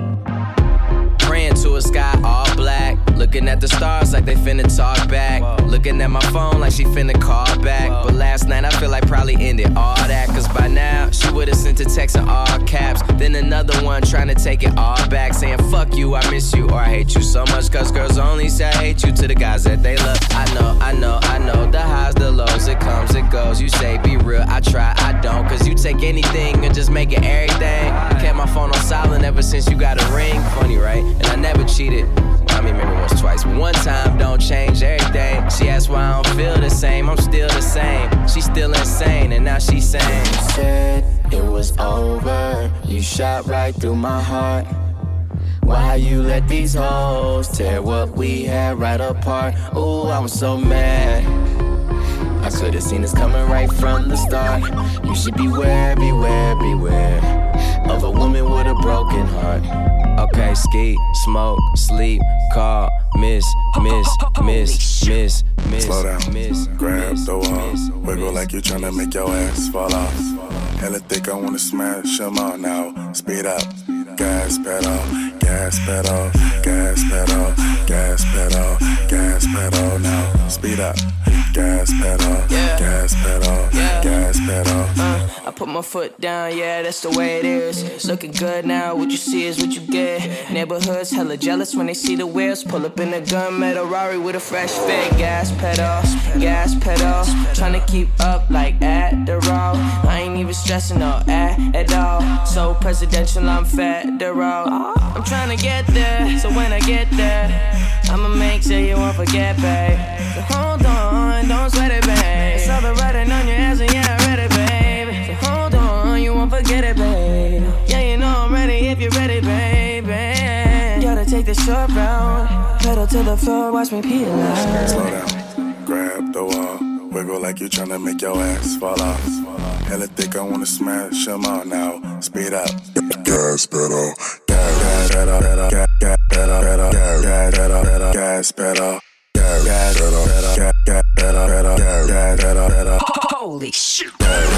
Praying to a sky all black, looking at the stars like they finna talk back. Whoa. Looking at my phone like she finna call back. Whoa. But last night I feel like probably ended all that. Cause by now she would've sent a text in all caps. Then another one trying to take it all back, saying fuck you, I miss you, or I hate you so much. Cause girls only say I hate you to the guys that they love. I know, I know, I know, the highs, the lows, it comes, it goes. You say be real, I try, I don't. Cause you take anything and just make it everything. I kept my phone on silent ever since you got a ring. Funny, right? And I never cheated. I mean, maybe once, twice, but one time don't change everything. She asked why I don't feel the same. I'm still the same. She's still insane, and now she's saying, you said it was over. You shot right through my heart. Why you let these hoes tear what we had right apart? Ooh, I was so mad. I could've seen this coming right from the start. You should beware, beware, beware of a woman with a broken heart. Okay, ski, smoke, sleep, call, miss, miss, miss, miss, miss. Slow down, miss, grab miss, the wall, miss, wiggle miss, like you're trying to make your ass fall off. Hella thick, I wanna smash them all now. Speed up, gas pedal, gas pedal, gas pedal, gas pedal, gas pedal now. Speed up, gas pedal, yeah. gas pedal, yeah. gas pedal. Uh, I put my foot down, yeah, that's the way it is. Looking good now, what you see is what you get. Neighborhoods hella jealous when they see the wheels. Pull up in a gunmetal Rari with a fresh fit. Gas pedal, gas pedal. Tryna keep up like Adderall. I ain't even stressing no at, at all. So presidential, I'm federal. I'm tryna get there, so when I get there, I'ma make sure you won't forget, babe. So hold on, don't sweat it, babe. It's all the writing on your ass and yeah, I'm ready, babe. So short round. Pedal to the floor, watch me peel out. Slow down, grab the wall. Wiggle like you tryna make your ass fall off. Hella thick, I wanna smash them out now. Speed up. Gas pedal. Gas pedal. Gas pedal. Gas pedal. Gas pedal. Gas pedal. Gas pedal. Gas pedal. Holy shit.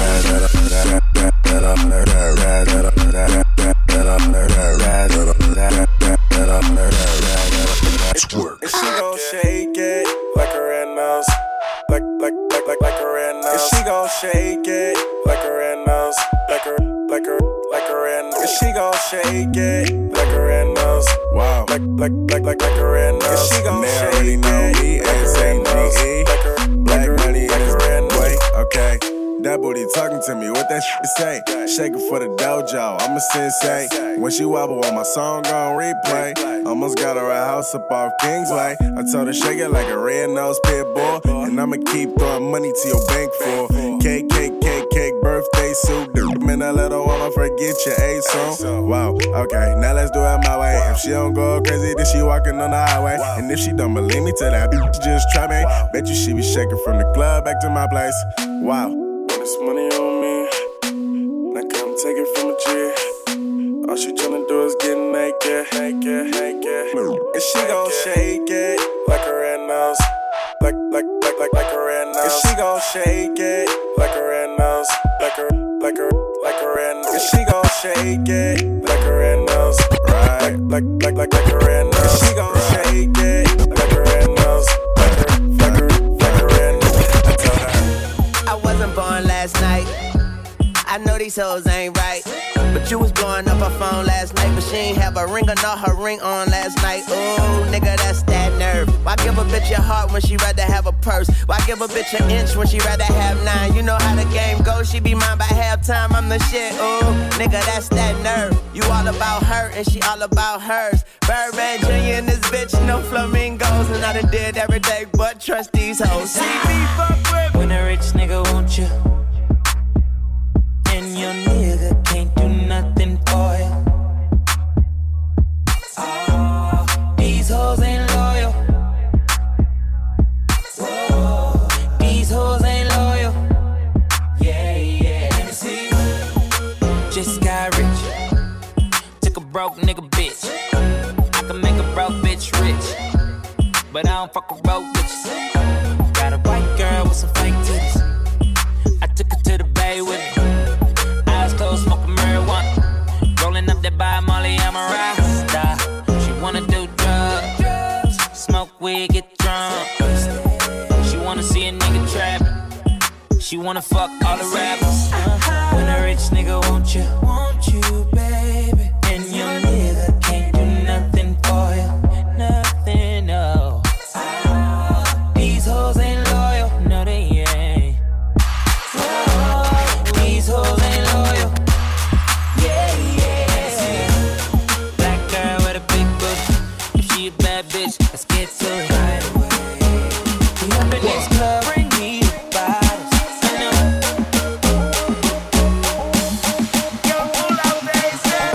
Twerk. And she gon' shake it like a red nose. Like, like, like, like, like a red nose. And she gon' shake it like a red nose. Like a, like a, like a red nose. And she gon' shake it like a red nose. Wow. Like, like, like, like, like a red nose. And she gon' shake it like a red nose. Like a, black money in his red nose. Wait, okay. That booty talking to me, what that shit say? Shaking for the dojo, I'm a sensei. When she wobble on my song on replay, almost got her a house up off Kingsway. I told her shake it like a red nose pit bull, and I'ma keep throwing money to your bank for cake, cake, cake, cake, birthday suit. Man, I let her woman forget your A song. Wow, okay, now let's do it my way. If she don't go crazy, then she walking on the highway. And if she don't believe me, tell that bitch just try me. Bet you she be shaking from the club back to my place. Wow. This money on me, now come take it from a G. All she tryna do is get naked, naked, naked. And she gon' shake it like a red nose, like, like, like, like, like a red nose. And she gon' shake it like a red nose, like a, like a, like a red nose. And she gon' shake it like a red nose, right? Like, like, like, like a red nose. And she gon' shake it like a red nose, like a, like a, like a red nose. I told her I wasn't born last night. I know these hoes ain't right. But you was blowing up her phone last night, but she ain't have a ring or not her ring on last night. Ooh, nigga, that's that nerve. Why give a bitch your heart when she rather have a purse? Why give a bitch an inch when she rather have nine? You know how the game goes, she be mine by halftime, I'm the shit. Ooh, nigga, that's that nerve. You all about her and she all about hers. Birdman Junior and this bitch, no flamingos. And I done did every day but trust these hoes. See me fuck with when a rich nigga want you, and your nigga can't do nothing for you. Oh, these hoes ain't loyal. Whoa, these hoes ain't loyal. Yeah, yeah. Let me see. Just got rich. Took a broke nigga bitch. I can make a broke bitch rich, but I don't fuck with broke bitches. Got a white girl with some fake titties. I took her to the bay with me. Eyes closed, smoking marijuana. Rolling up that by Molly, I'm a rasta. She wanna do drugs, smoke weed, get drunk. She wanna see a nigga trap. She wanna fuck all the rappers. When a rich nigga want you, want you, baby, and your nigga can't do nothing for you, nothing, no. These hoes ain't loyal, no they ain't. Whoa, these hoes ain't loyal. Yeah, yeah. Black girl with a big booty. If she a bad bitch, let's get to it right away. We up in this club, bring me the bottles. I know. Yo, pull out they say.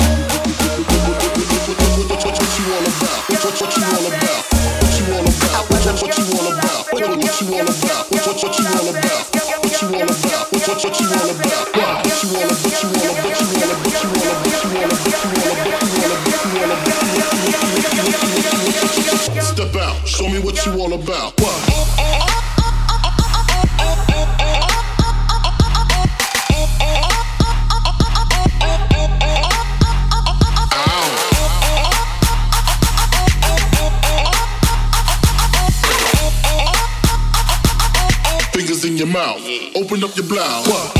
What you all about? What, what, what you all about? What you all about? What, what, what you all about? What, what, what you all about? What, what, what you all about? What you all about? What, what, what you all about? What you all about? What you all about? What you all about? What you all about? What you all about? What you all about? What you all about? Step out, show me what you all about. What? Fingers in your mouth, open up your blouse. What?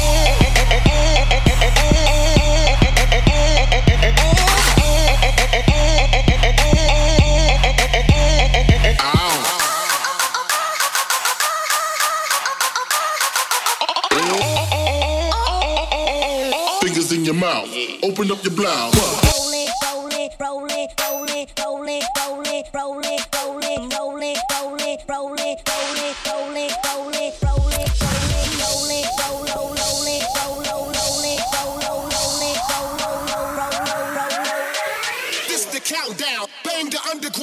Fingers in your mouth, open up your blouse. Roll it, roll it, roll it, roll it, roll it, roll it, roll it, roll it, roll it, roll it, roll it, roll it, roll it, roll it, roll it, roll it, roll it, roll roll roll it, roll roll roll it, roll roll roll it, roll roll roll roll roll roll. This the countdown, bang the underground.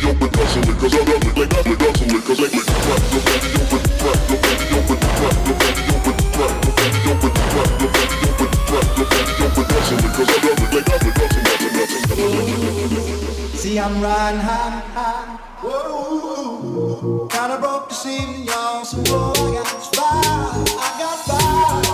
open, hustle it, cause I love it, like I hustle it, cause I like crack your body open, crack your body open, crack your body open, crack your body open, crack your body open, crack your body open, hustle it, cause I love it, like I hustle, hustle, hustle. See, I'm riding high, high, whoa, kinda broke this evening, y'all, so whoa, I got fire, I got fire.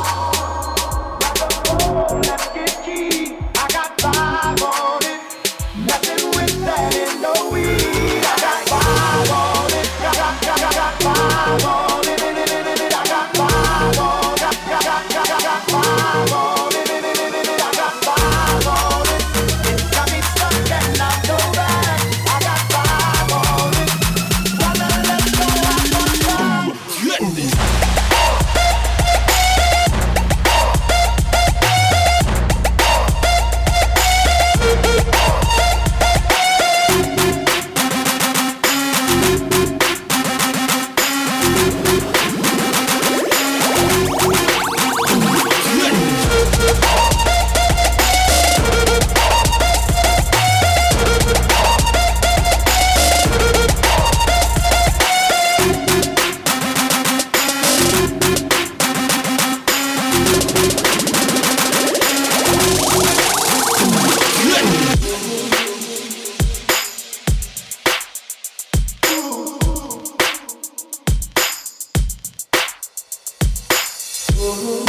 Let's get key. I got five on it. Nothing with that in no weed. I got five on it. Got, got, got, got, got five on it. I got five on it. Got, got, got, got, got five on it. I got five on it. It's got me stuck and I go back. I got five on it. Wanna let go, I got five. Goodness. Ooh.